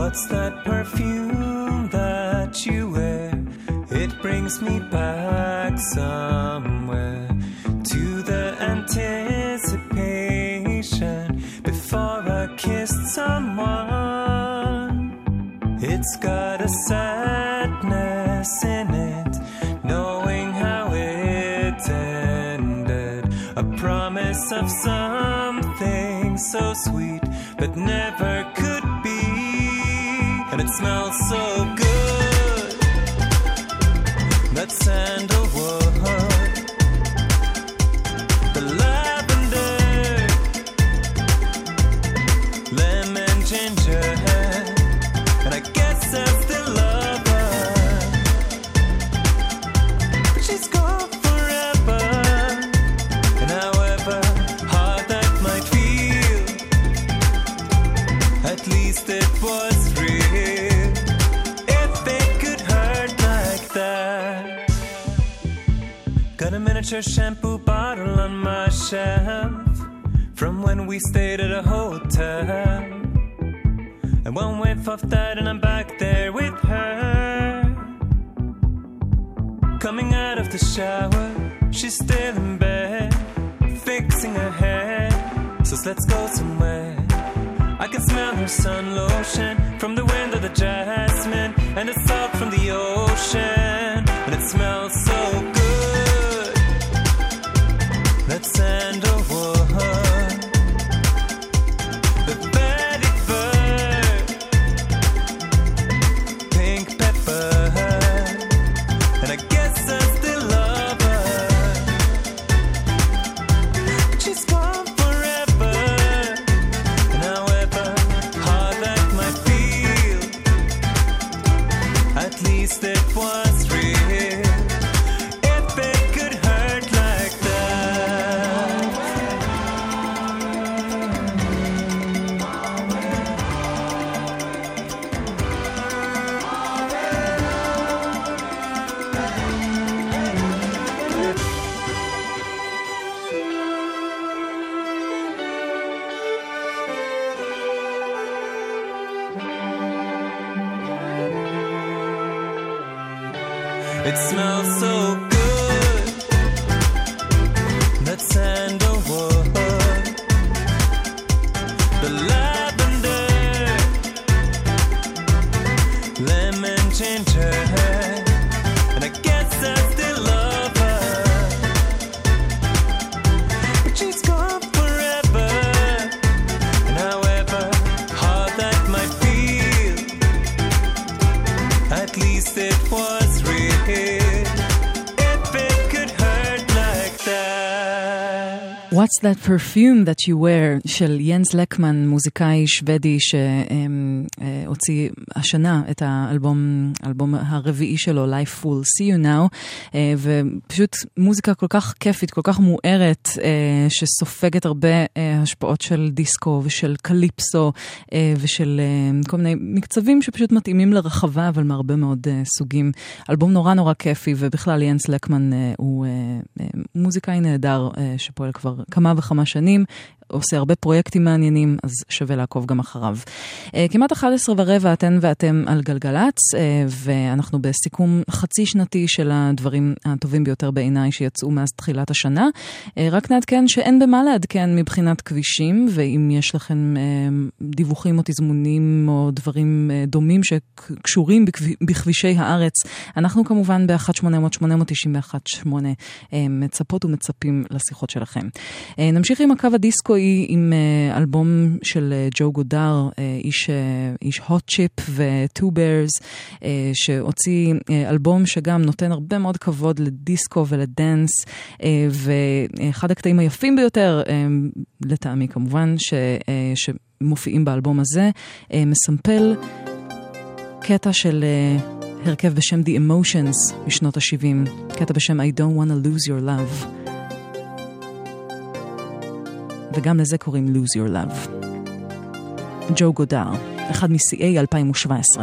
What's that perfume that you wear? It brings me back somewhere to the anticipation before I kissed someone. It's got a sadness in it, knowing how it ended. A promise of something so sweet, but never could be. And it smells so good, that sandalwood, the lavender, lemon, ginger, and I guess I still love her, but she's gone forever. And however hard that might feel, at least it was real. If it could hurt like that. Got a miniature shampoo bottle on my shelf from when we stayed at a hotel. And one whiff of that and I'm back there with her. Coming out of the shower, she's still in bed, fixing her hair. So let's go somewhere. I can smell her sun lotion from the wind of the jasmine and the salt from the ocean. And it smells so good, that sandalwood, the vetiver, pink pepper, and I guess I still love her, but she's gone forever. And however hard that might feel, at least it was real. If it could hurt like that. It smells so good, that sandalwood, the lavender, lemon, ginger, and I guess I still love her, but she's gone forever. And however hard that might feel, at least it was real. If it could hurt like that. What's that perfume that you wear של ינס לקמן, מוזיקאי שוודי שהוציא השנה את האלבום הרביעי שלו, Life Will See You Now, ופשוט מוזיקה כל כך כיפית, כל כך מוארת, שסופגת הרבה השפעות של דיסקו ושל קליפסו ושל כל מיני מקצבים שפשוט מתאימים לרחבה, אבל מהרבה מאוד סוגים. אלבום נורא נורא כיפי, ובכלל ינס לקמן הוא מוזיקאי נהדר שפועל כבר כמה וכמה שנים, עושה הרבה פרויקטים מעניינים, אז שווה לעקוב גם אחריו. כמעט 11:15 אתן ואתם על גלגלץ, ואנחנו בסיכום חצי שנתי של הדברים הטובים ביותר בעיניי שיצאו מאז תחילת השנה. רק נעדכן שאין במה לעדכן מבחינת כבישים, ואם יש לכם דיווחים או תזמונים או דברים דומים שקשורים בכבישי הארץ, אנחנו כמובן ב-1-800-891-8 מצפות ומצפים לשיחות שלכם. נמשיך עם הקו הדיסקו עם אלבום של ג'ו גודר, איש hot chip ו-Two Bears, שהוציא אלבום שגם נותן הרבה מאוד כבוד לדיסקו ולדנס, ואחד הקטעים היפים ביותר, לטעמי כמובן, שמופיעים באלבום הזה, מסמפל קטע של הרכב בשם The Emotions משנות ה-70, קטע בשם I Don't Wanna Lose Your Love. וגם לזה קוראים Lose Your Love. ג'ו גודר, אחד משיאי 2017.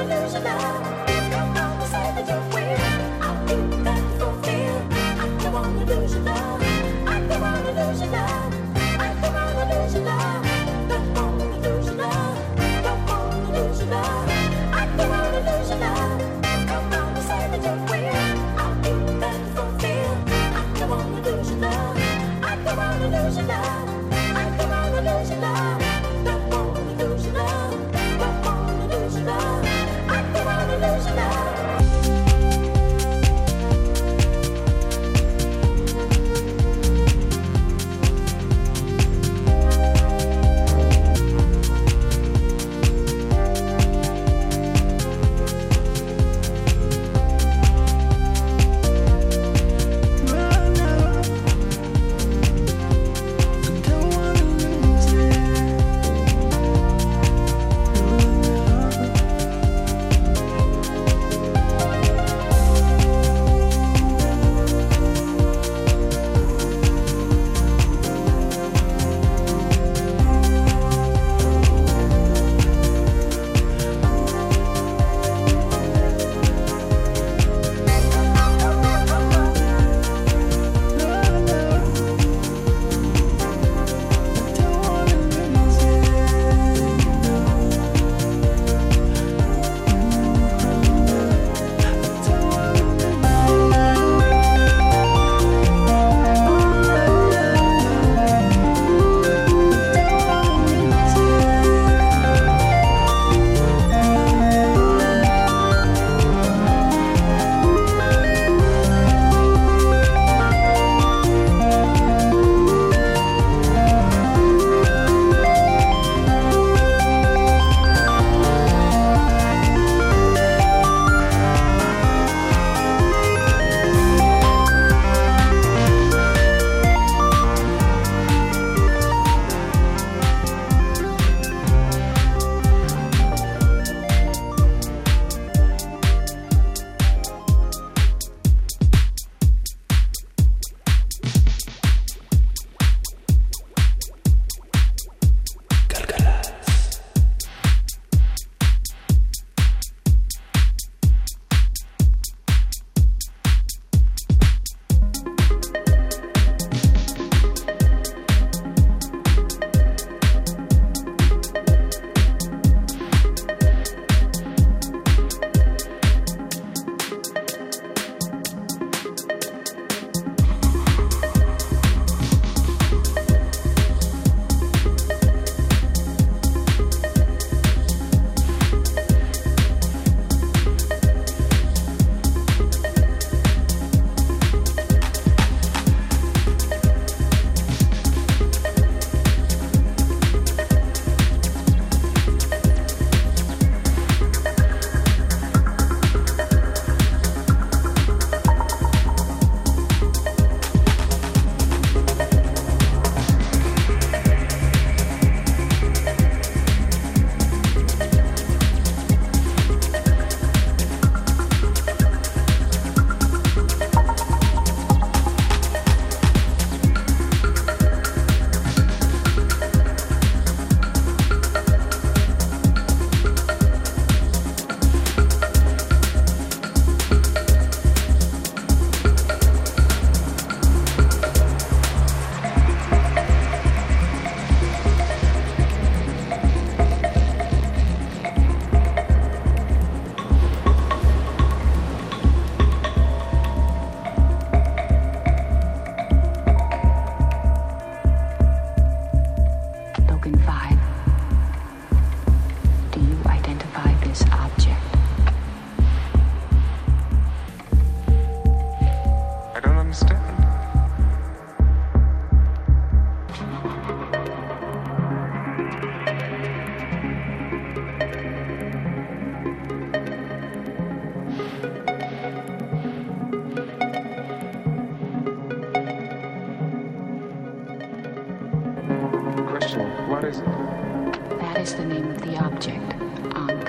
is it? That is the name of the object, Ankh.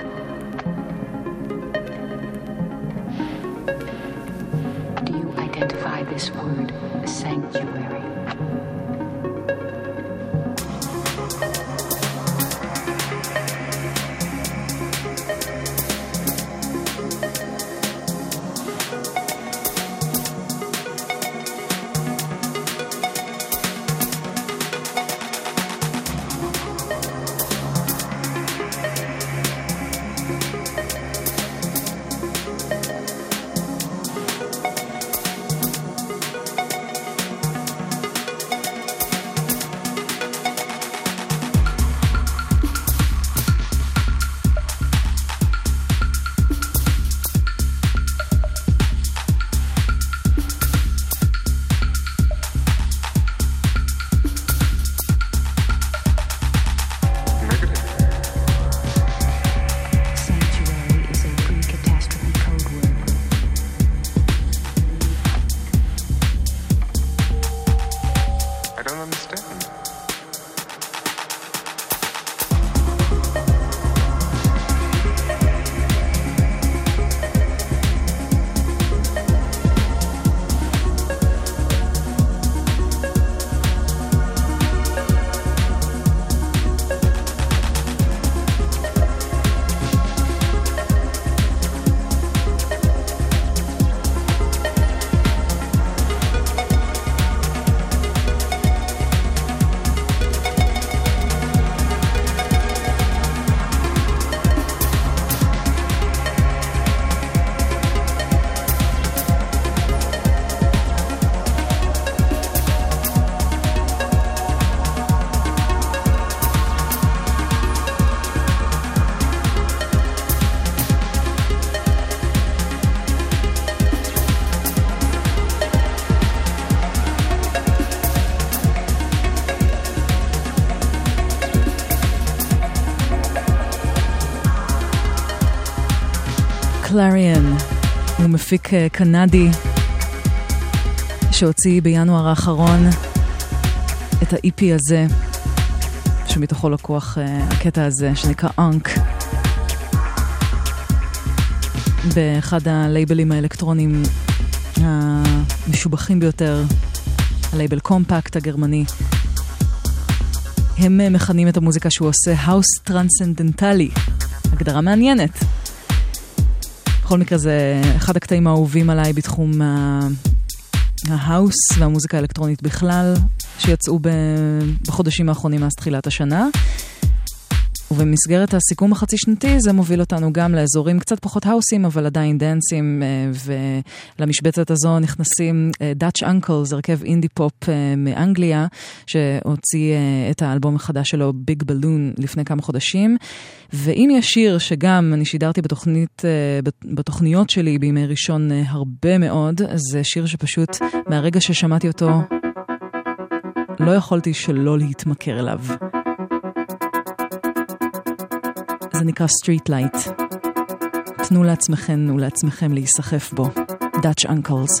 Do you identify this word, sanctuary? קלריאן הוא מפיק קנדי שהוציא בינואר האחרון את ה-EP הזה שמתוכו לקוח הקטע הזה שנקרא אנק באחד הלייבלים האלקטרונים המשובחים ביותר, הלייבל קומפקט הגרמני. הם מכנים את המוזיקה שהוא עושה האוס טרנסצנדנטלי, הגדרה מעניינת. בכל מקרה זה אחד הקטעים האהובים עליי בתחום ההאוס והמוזיקה האלקטרונית בכלל, שיצאו בחודשים האחרונים מאז תחילת השנה. ובמסגרת הסיכום החצי שנתי זה מוביל אותנו גם לאזורים קצת פחות האוסים אבל עדיין דנסים, ולמשבצת הזו נכנסים Dutch Uncles, הרכב אינדי פופ מאנגליה שהוציא את האלבום החדש שלו Big Balloon לפני כמה חודשים. ואם יש שיר שגם אני שידרתי בתוכניות שלי בימי ראשון הרבה מאוד, זה שיר שפשוט מהרגע ששמעתי אותו לא יכולתי שלא להתמכר אליו. זה נקרא Street Light. תנו לעצמכם ולעצמכם להיסחף בו. Dutch Uncles.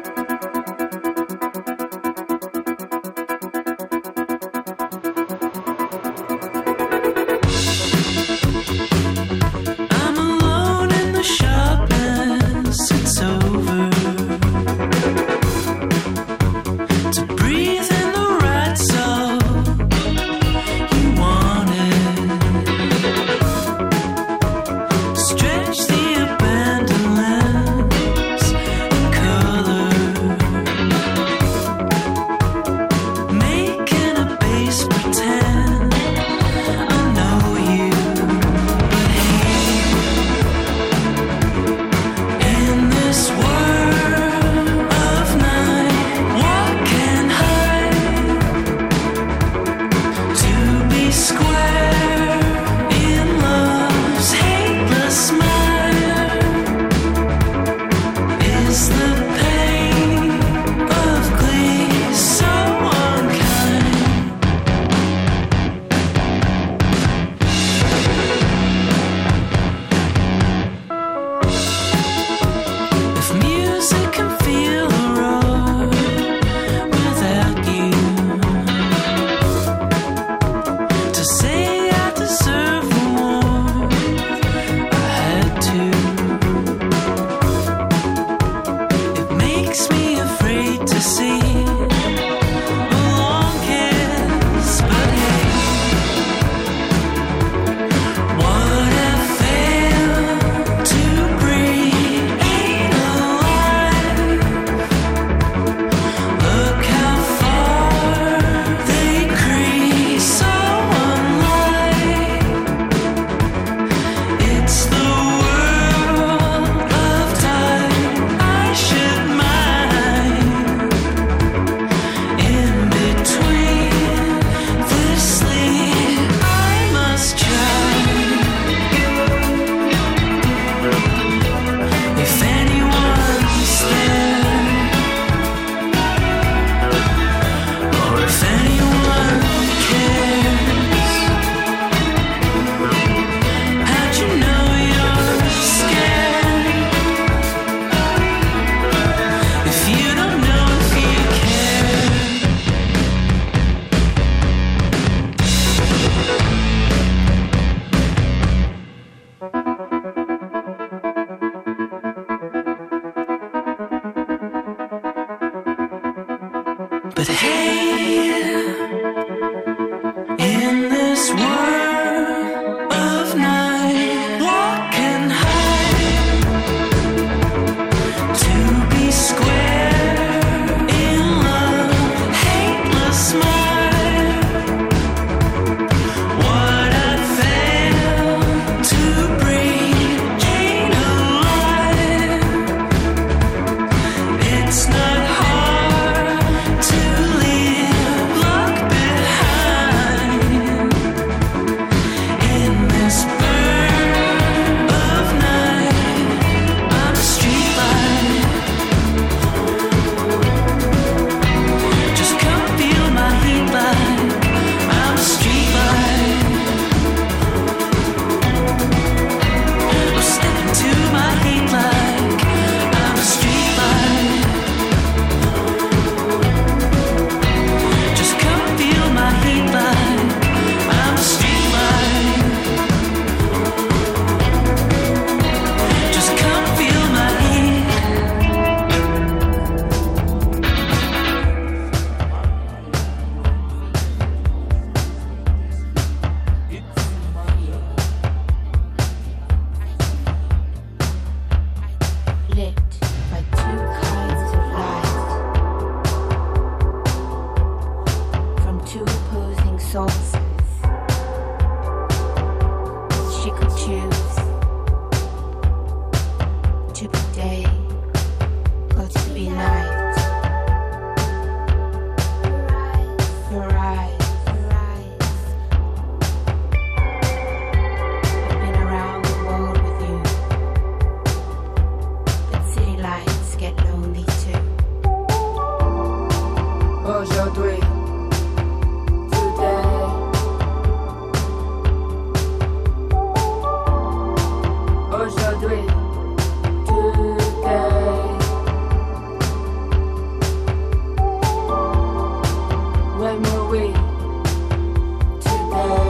But hey, in this world of night, walk and hide, to be square in love, hateless smile. What I failed to breathe ain't alive. It's not hard to leave luck behind. lit by two kinds of light from two opposing sources. She could choose to be day or to be night. Your eyes. I've been around the world with you, but city lights get lonely too. Aujourd'hui, today. Aujourd'hui, today. When were we today?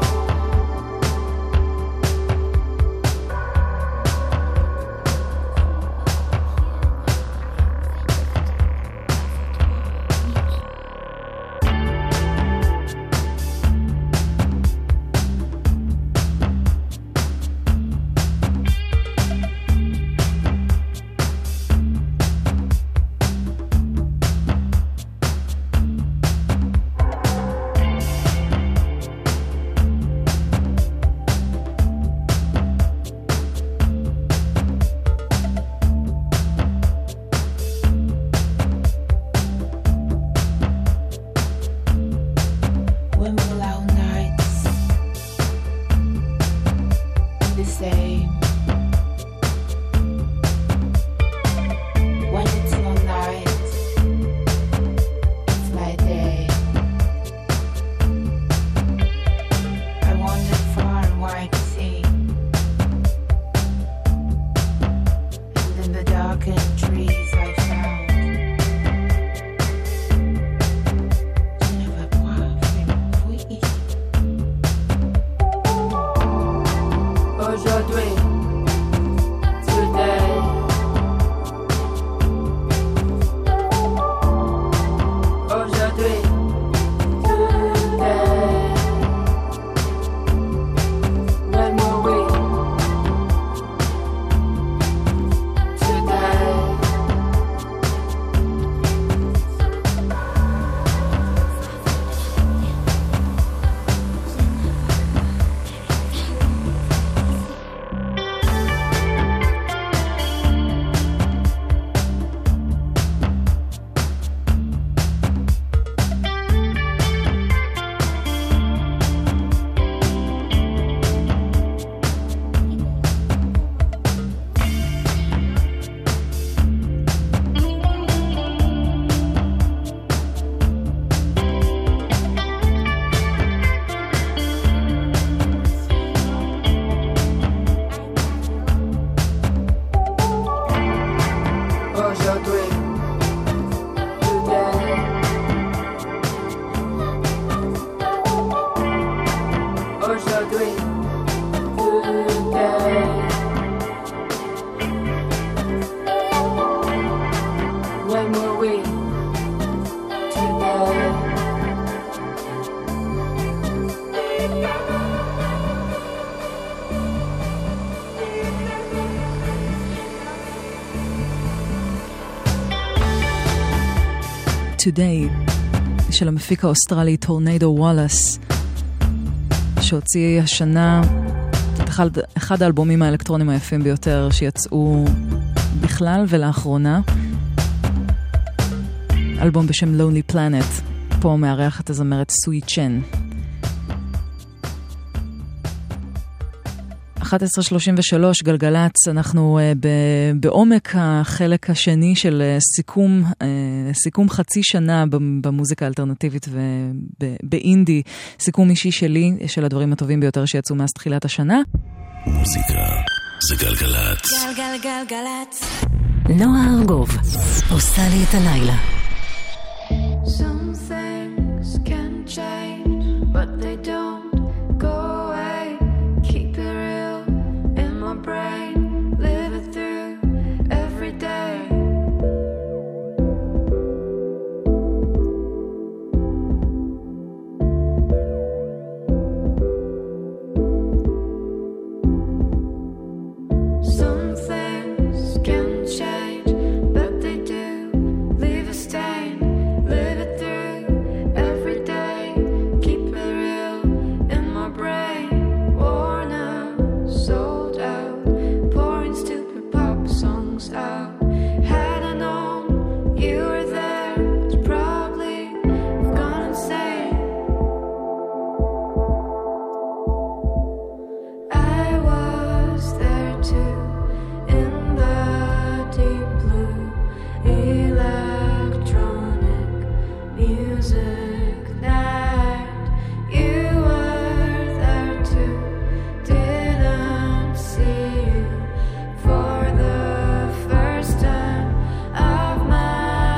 When will our nights be the same? When it's your night, it's my day. I wandered far and wide to see, and in the darkened trees I found aujourd'hui, today. Aujourd'hui, today. When were we today? Aujourd'hui, today. Aujourd'hui, today. When were we today? Today של המפיק האוסטרלי טורנדו וואלאס, שהוציא השנה את אחד האלבומים האלקטרונים היפים ביותר שיצאו בכלל ולאחרונה, אלבום בשם Lonely Planet. פה מארח את הזמרת סוי צ'ן. 11:33 גלגלץ, אנחנו בעומק החלק השני של סיכום חצי שנה במוזיקה האלטרנטיבית ובאינדי, סיכום אישי שלי של הדברים הטובים ביותר שיצאו מאז תחילת השנה. מוזיקה זה גלגלץ. גלגלגלגלץ. נועה ארגוב עושה לי את הלילה. Some things can change, but they don't go away. Keep it real in my brain, live it through every day. Some things can change. lungs out. Had I known you were there, I'd probably have gone insane. I was there too, in the deep blue electronic music night. You were there too, didn't see you for the first time of my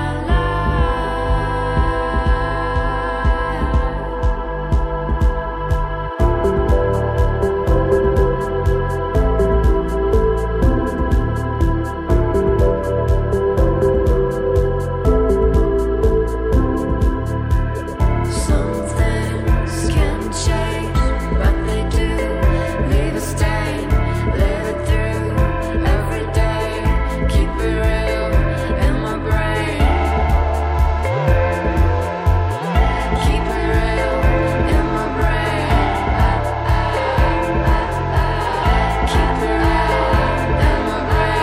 Some things can change, but they do leave a stain. Live it through every day, keep it real in my brain. Keep it real in my brain. Keep it real in my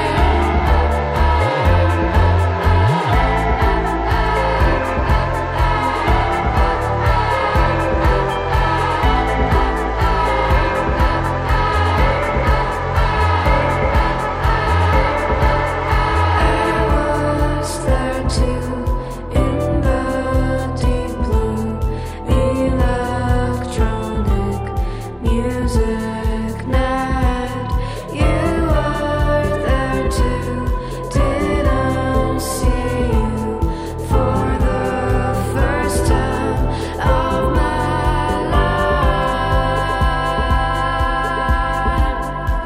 was there too, in the deep blue electronic music night. You were there too, didn't see you for the first time of my life.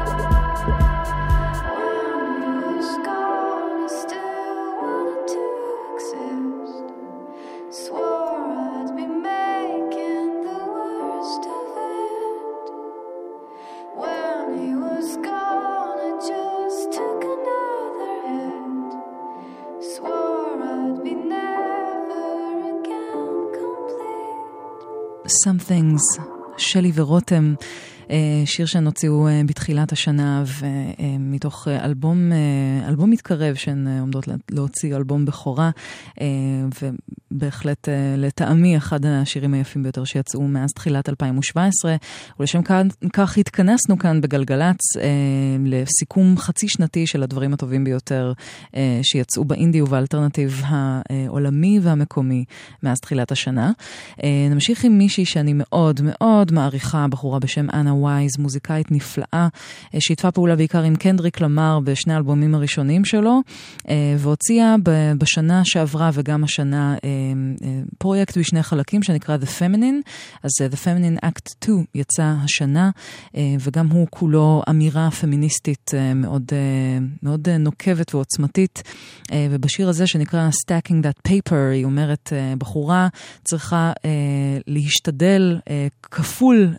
When you was gone, I still wanted to exist. Swore I'd be making the worst of it. When he was gone, I just took another hit. Swore I'd be never again complete. Some Things, שלי ורותם, שיר שהן הוציאו בתחילת השנה, ומתוך אלבום מתקרב, שהן עומדות להוציא אלבום בכורה, ובהחלט לטעמי אחד השירים היפים ביותר שיצאו מאז תחילת 2017, ולשם כך התכנסנו כאן בגלגלץ לסיכום חצי שנתי של הדברים הטובים ביותר שיצאו באינדי ובאלטרנטיב העולמי והמקומי מאז תחילת השנה. נמשיך עם מישהי שאני מאוד מאוד מעריכה, בחורה בשם אנה ווייז, מוזיקאית נפלאה, שהתפה פעולה בעיקר עם קנדריק למר בשני האלבומים הראשונים שלו, והוציאה בשנה שעברה וגם השנה פרויקט בשני חלקים שנקרא The Feminine. אז The Feminine Act 2 יצא השנה, וגם הוא כולו אמירה פמיניסטית מאוד, מאוד נוקבת ועוצמתית, ובשיר הזה שנקרא Stacking That Paper היא אומרת, בחורה צריכה להשתדל כפול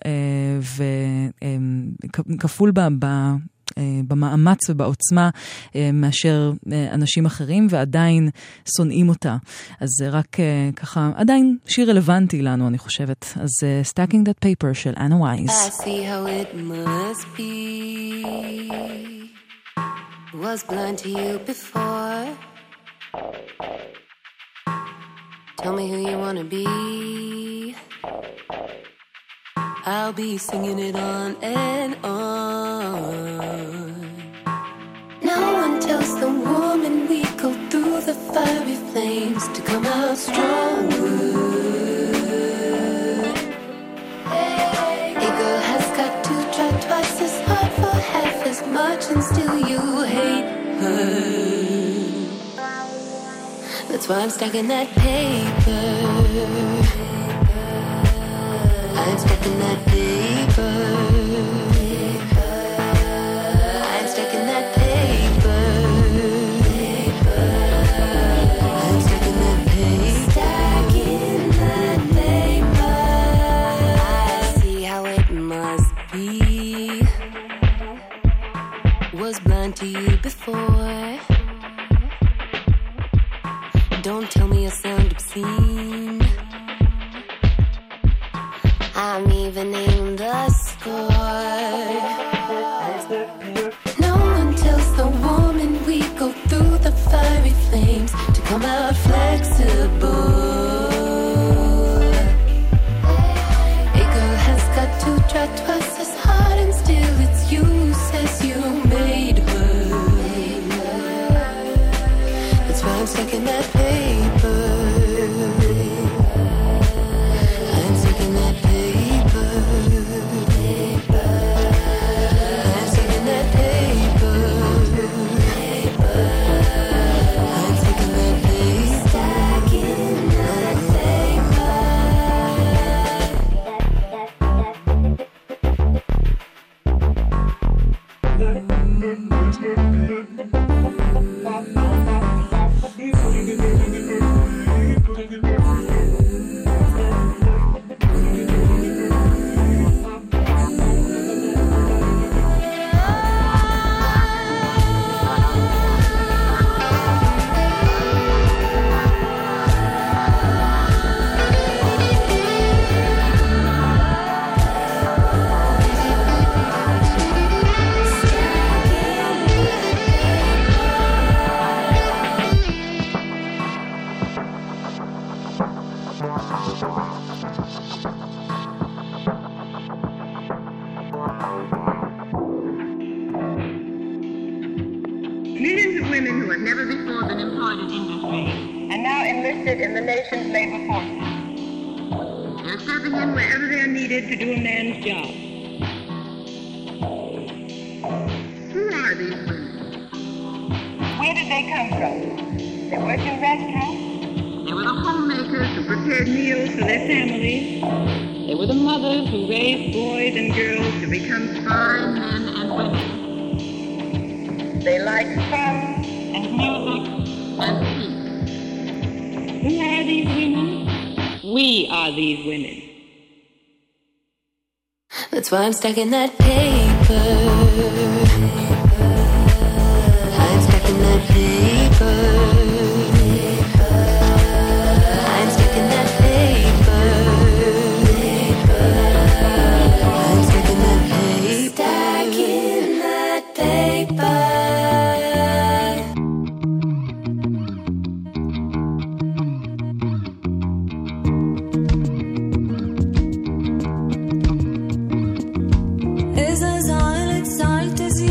וכפול במאמץ ובעוצמה מאשר אנשים אחרים, ועדיין שונאים אותה. אז זה רק ככה, עדיין שיר רלוונטי לנו, אני חושבת. אז Stacking That Paper של אנה ווייז. I see how it must be. Was blind to you before. Tell me who you wanna be. I'll be singing it on and on. No one tells the woman we go through the fiery flames to come out stronger. A girl has got to try twice as hard for half as much, and still you hate her. That's why I'm stacking that paper. I'm stacking that paper. I'm stacking that paper. I'm stacking that paper. Stacking that paper. I see how it must be. Was blind to you before. Don't tell me I sound obscene. I'm evening the score. No one tells the woman we go stacking that paper. I'm stacking that paper. I'm stacking that paper. I'm stacking that paper. Stacking that paper. Millions of women who have never before been employed in industry and now enlisted in the nation's labor forces. They're stepping in wherever they're needed to do a man's job. Who are these women? Where did they come from? They worked in restaurants. They were the homemakers who prepared meals for their families. They were the mothers who raised boys and girls to become fine men and women. They liked fun and music and peace. Who are these women? We are these women. That's why I'm stacking that paper. I'm stacking that paper. I'm stacking that paper. I'm stacking that paper. Stacking that paper. إذا زعلت زعلت زيادة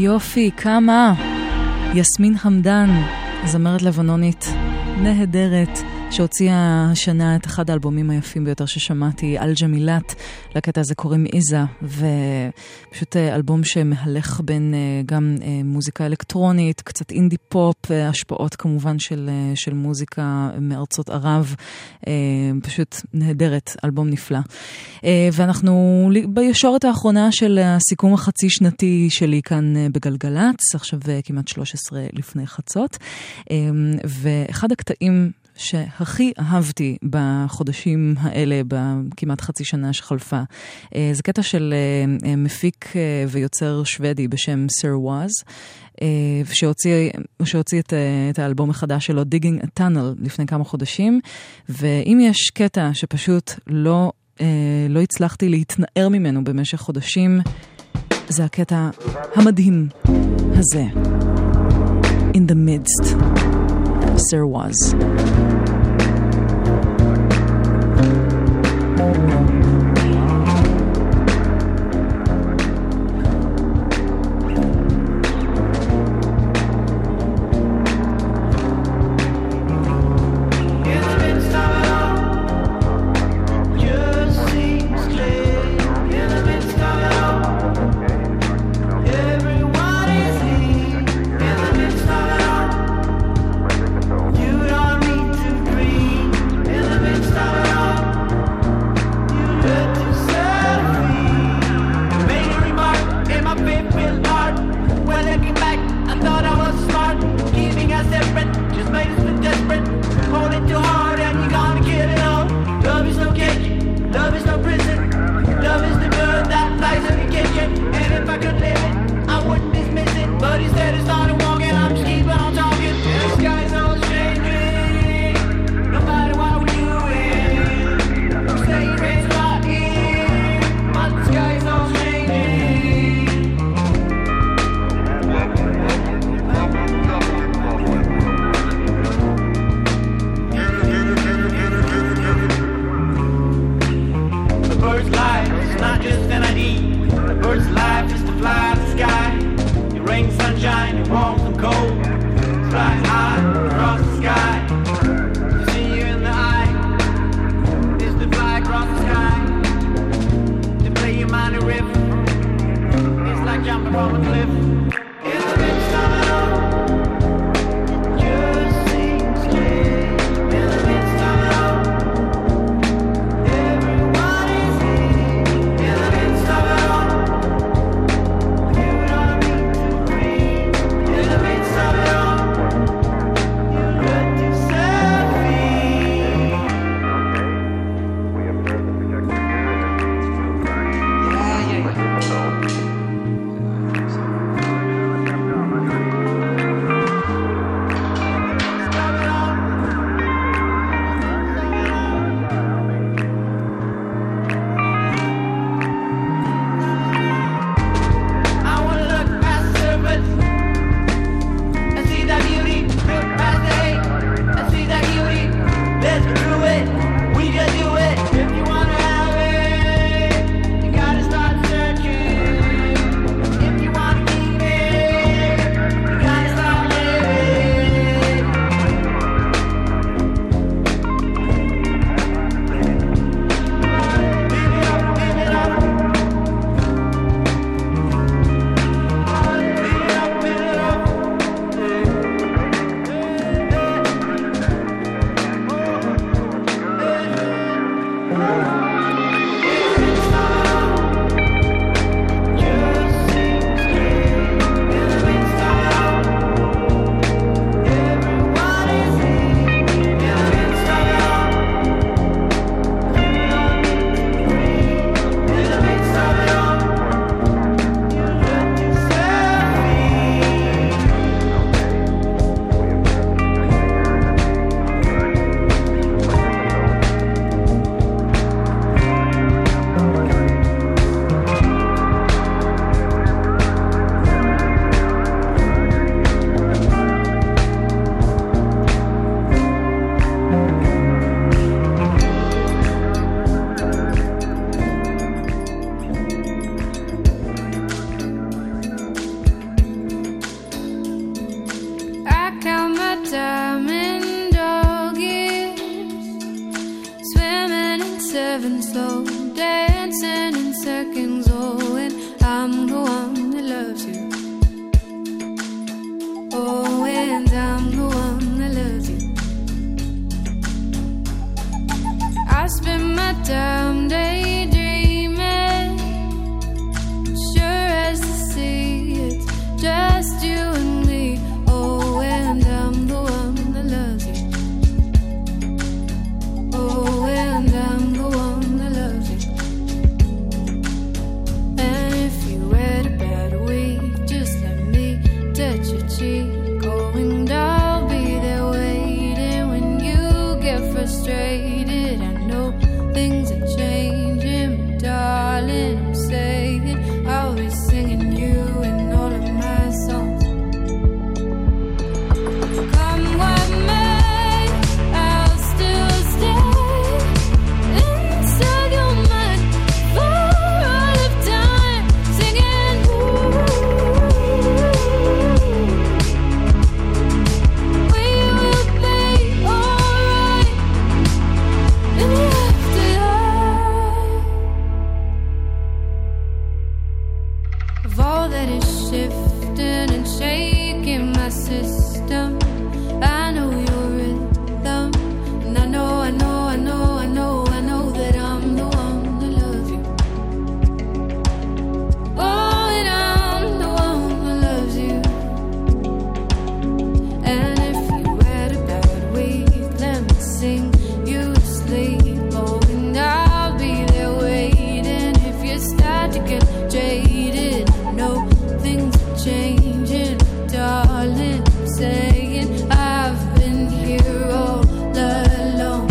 יופי, כמה. יסמין חמדן, זמרת לבנונית נהדרת, שהוציאה השנה את אחד האלבומים היפים ביותר ששמעתי, אל ג'מילת. לקטע הזה קוראים איזה, ופשוט אלבום שמהלך בין גם מוזיקה אלקטרונית, קצת אינדי פופ, השפעות כמובן של מוזיקה מארצות ערב, פשוט נהדרת, אלבום נפלא. ואנחנו בישורת האחרונה של הסיכום החצי שנתי שלי כאן בגלגלץ, עכשיו כמעט 13 לפני חצות, ואחד הקטעים שהכי אהבתי בחודשים האלה, בכמעט חצי שנה שחלפה, זה קטע של מפיק ויוצר שוודי בשם סר ואז, שהוציא את האלבום החדש שלו, Digging a Tunnel, לפני כמה חודשים, ואם יש קטע שפשוט לא הצלחתי להתנער ממנו במשך חודשים, זה הקטע המדהים הזה, In the Midst, Sir Was. You don't need to breathe in the midst of it all. slow dancing in seconds. Oh, and I'm the one that loves you. Oh, and I'm the one that loves you. I spend my time daydreaming, sure as the sea, it's just you and me. Oh, and I'm the one that loves you. Oh, and I'm the one that loves you. And if you had a bad week, just let me touch your cheek. Oh, and I'll be there waiting when you get frustrated. I know things are changing, but darling, I'm saying I'll be singing you in all of my songs. Come what may, I'll still stay inside your mind for all of time, singing ooh. We will be alright in the afterlife. Of all that is shifting and shaking my system, I know your rhythm, and I know that I'm the one that loves you. Oh, and I'm the one that loves you. And if you had a bad week, let me sing you to sleep. Oh, and I'll be there waiting if you start to get jaded. No, things are changing, darling. I'm saying I've been here all alone.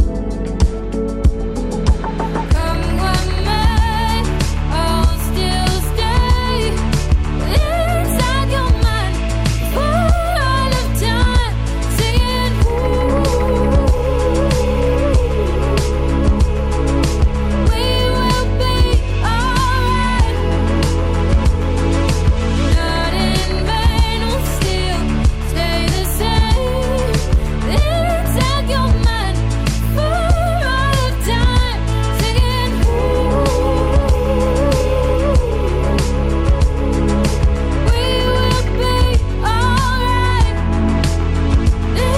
Come what may, I'll still stay inside your mind for all of time, singing ooh. We will be alright. Not in vain, we'll still stay the same inside your mind for all of time, singing ooh. We will be alright in the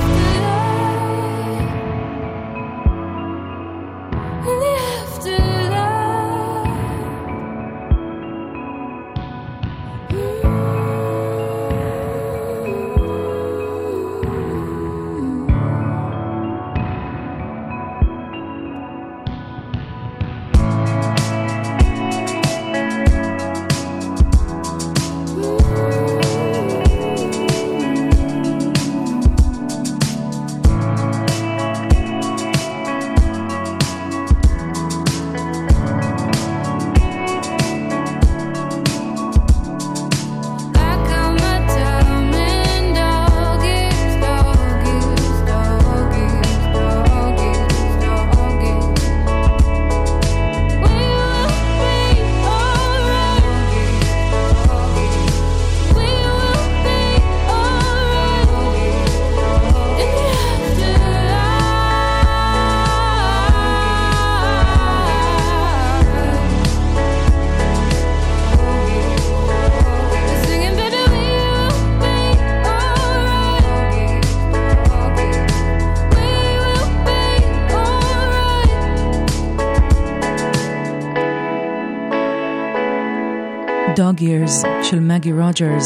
Dog Years של מגי רוג'רס.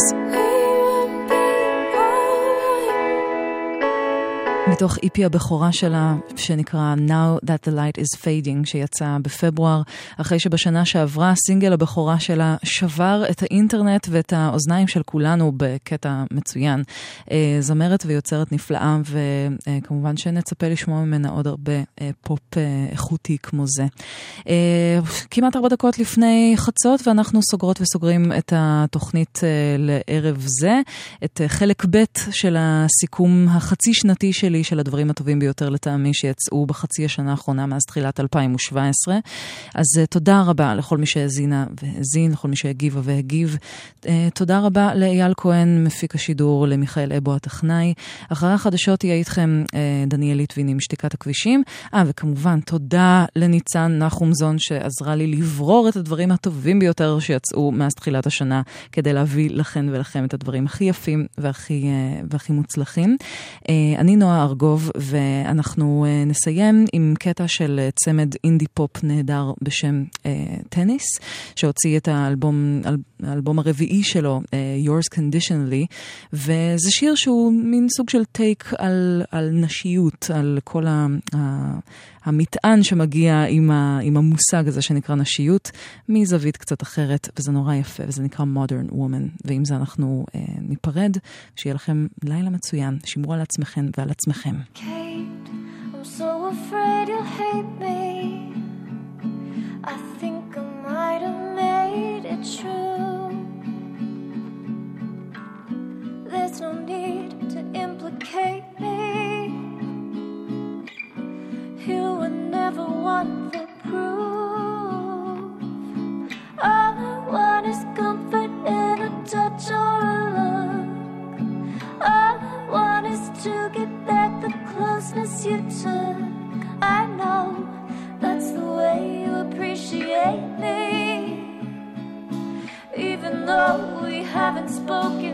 מתוך איפי הבכורה שלה שנקרא Now That the Light is Fading, שיצא בפברואר, אחרי שבשנה שעברה הסינגל הבכורה שלה שבר את האינטרנט ואת האוזניים של כולנו בקטע מצוין. זמרת ויוצרת נפלאה, וכמובן שנצפה לשמוע ממנה עוד הרבה פופ איכותי כמו זה. כמעט 4 דקות לפני חצות, ואנחנו סוגרות וסוגרים את התוכנית לערב זה, את חלק ב' של הסיכום החצי שנתי שלי שלי של הדברים הטובים ביותר לטעמי שיצאו בחצי השנה האחרונה מאז תחילת 2017. אז תודה רבה לכל מי שהזינה והזין, לכל מי שהגיבה והגיב. תודה רבה לאייל כהן, מפיק השידור, למיכאל אבו הטכנאי. אחרי החדשות יהיה איתכם דניאל ליטבין עם שתיקת הכבישים. וכמובן תודה לניצן נחומזון שעזרה לי לברור את הדברים הטובים ביותר שיצאו מאז תחילת השנה, כדי להביא לכן ולכם את הדברים הכי יפים והכי מוצלחים. אני נועה ארגוב, ואנחנו נסיים עם קטע של צמד אינדי פופ נהדר בשם טניס, שהוציא את האלבום הרביעי שלו, Yours Conditionally, וזה שיר שהוא מין סוג של טייק על נשיות, על כל המטען שמגיע עם המושג הזה שנקרא נשיות, מזווית קצת אחרת, וזה נורא יפה, וזה נקרא Modern Woman, ועם זה אנחנו ניפרד, שיהיה לכם לילה מצוין, שמרו על עצמכם ועל עצמכם. Kate, I'm so afraid you'll hate me. I think I might have made it true. There's no need to implicate me. You were never one for proof. All I want is comfort in a touch or a look. All I want is to get back the closeness you took. I know that's the way you appreciate me. Even though we haven't spoken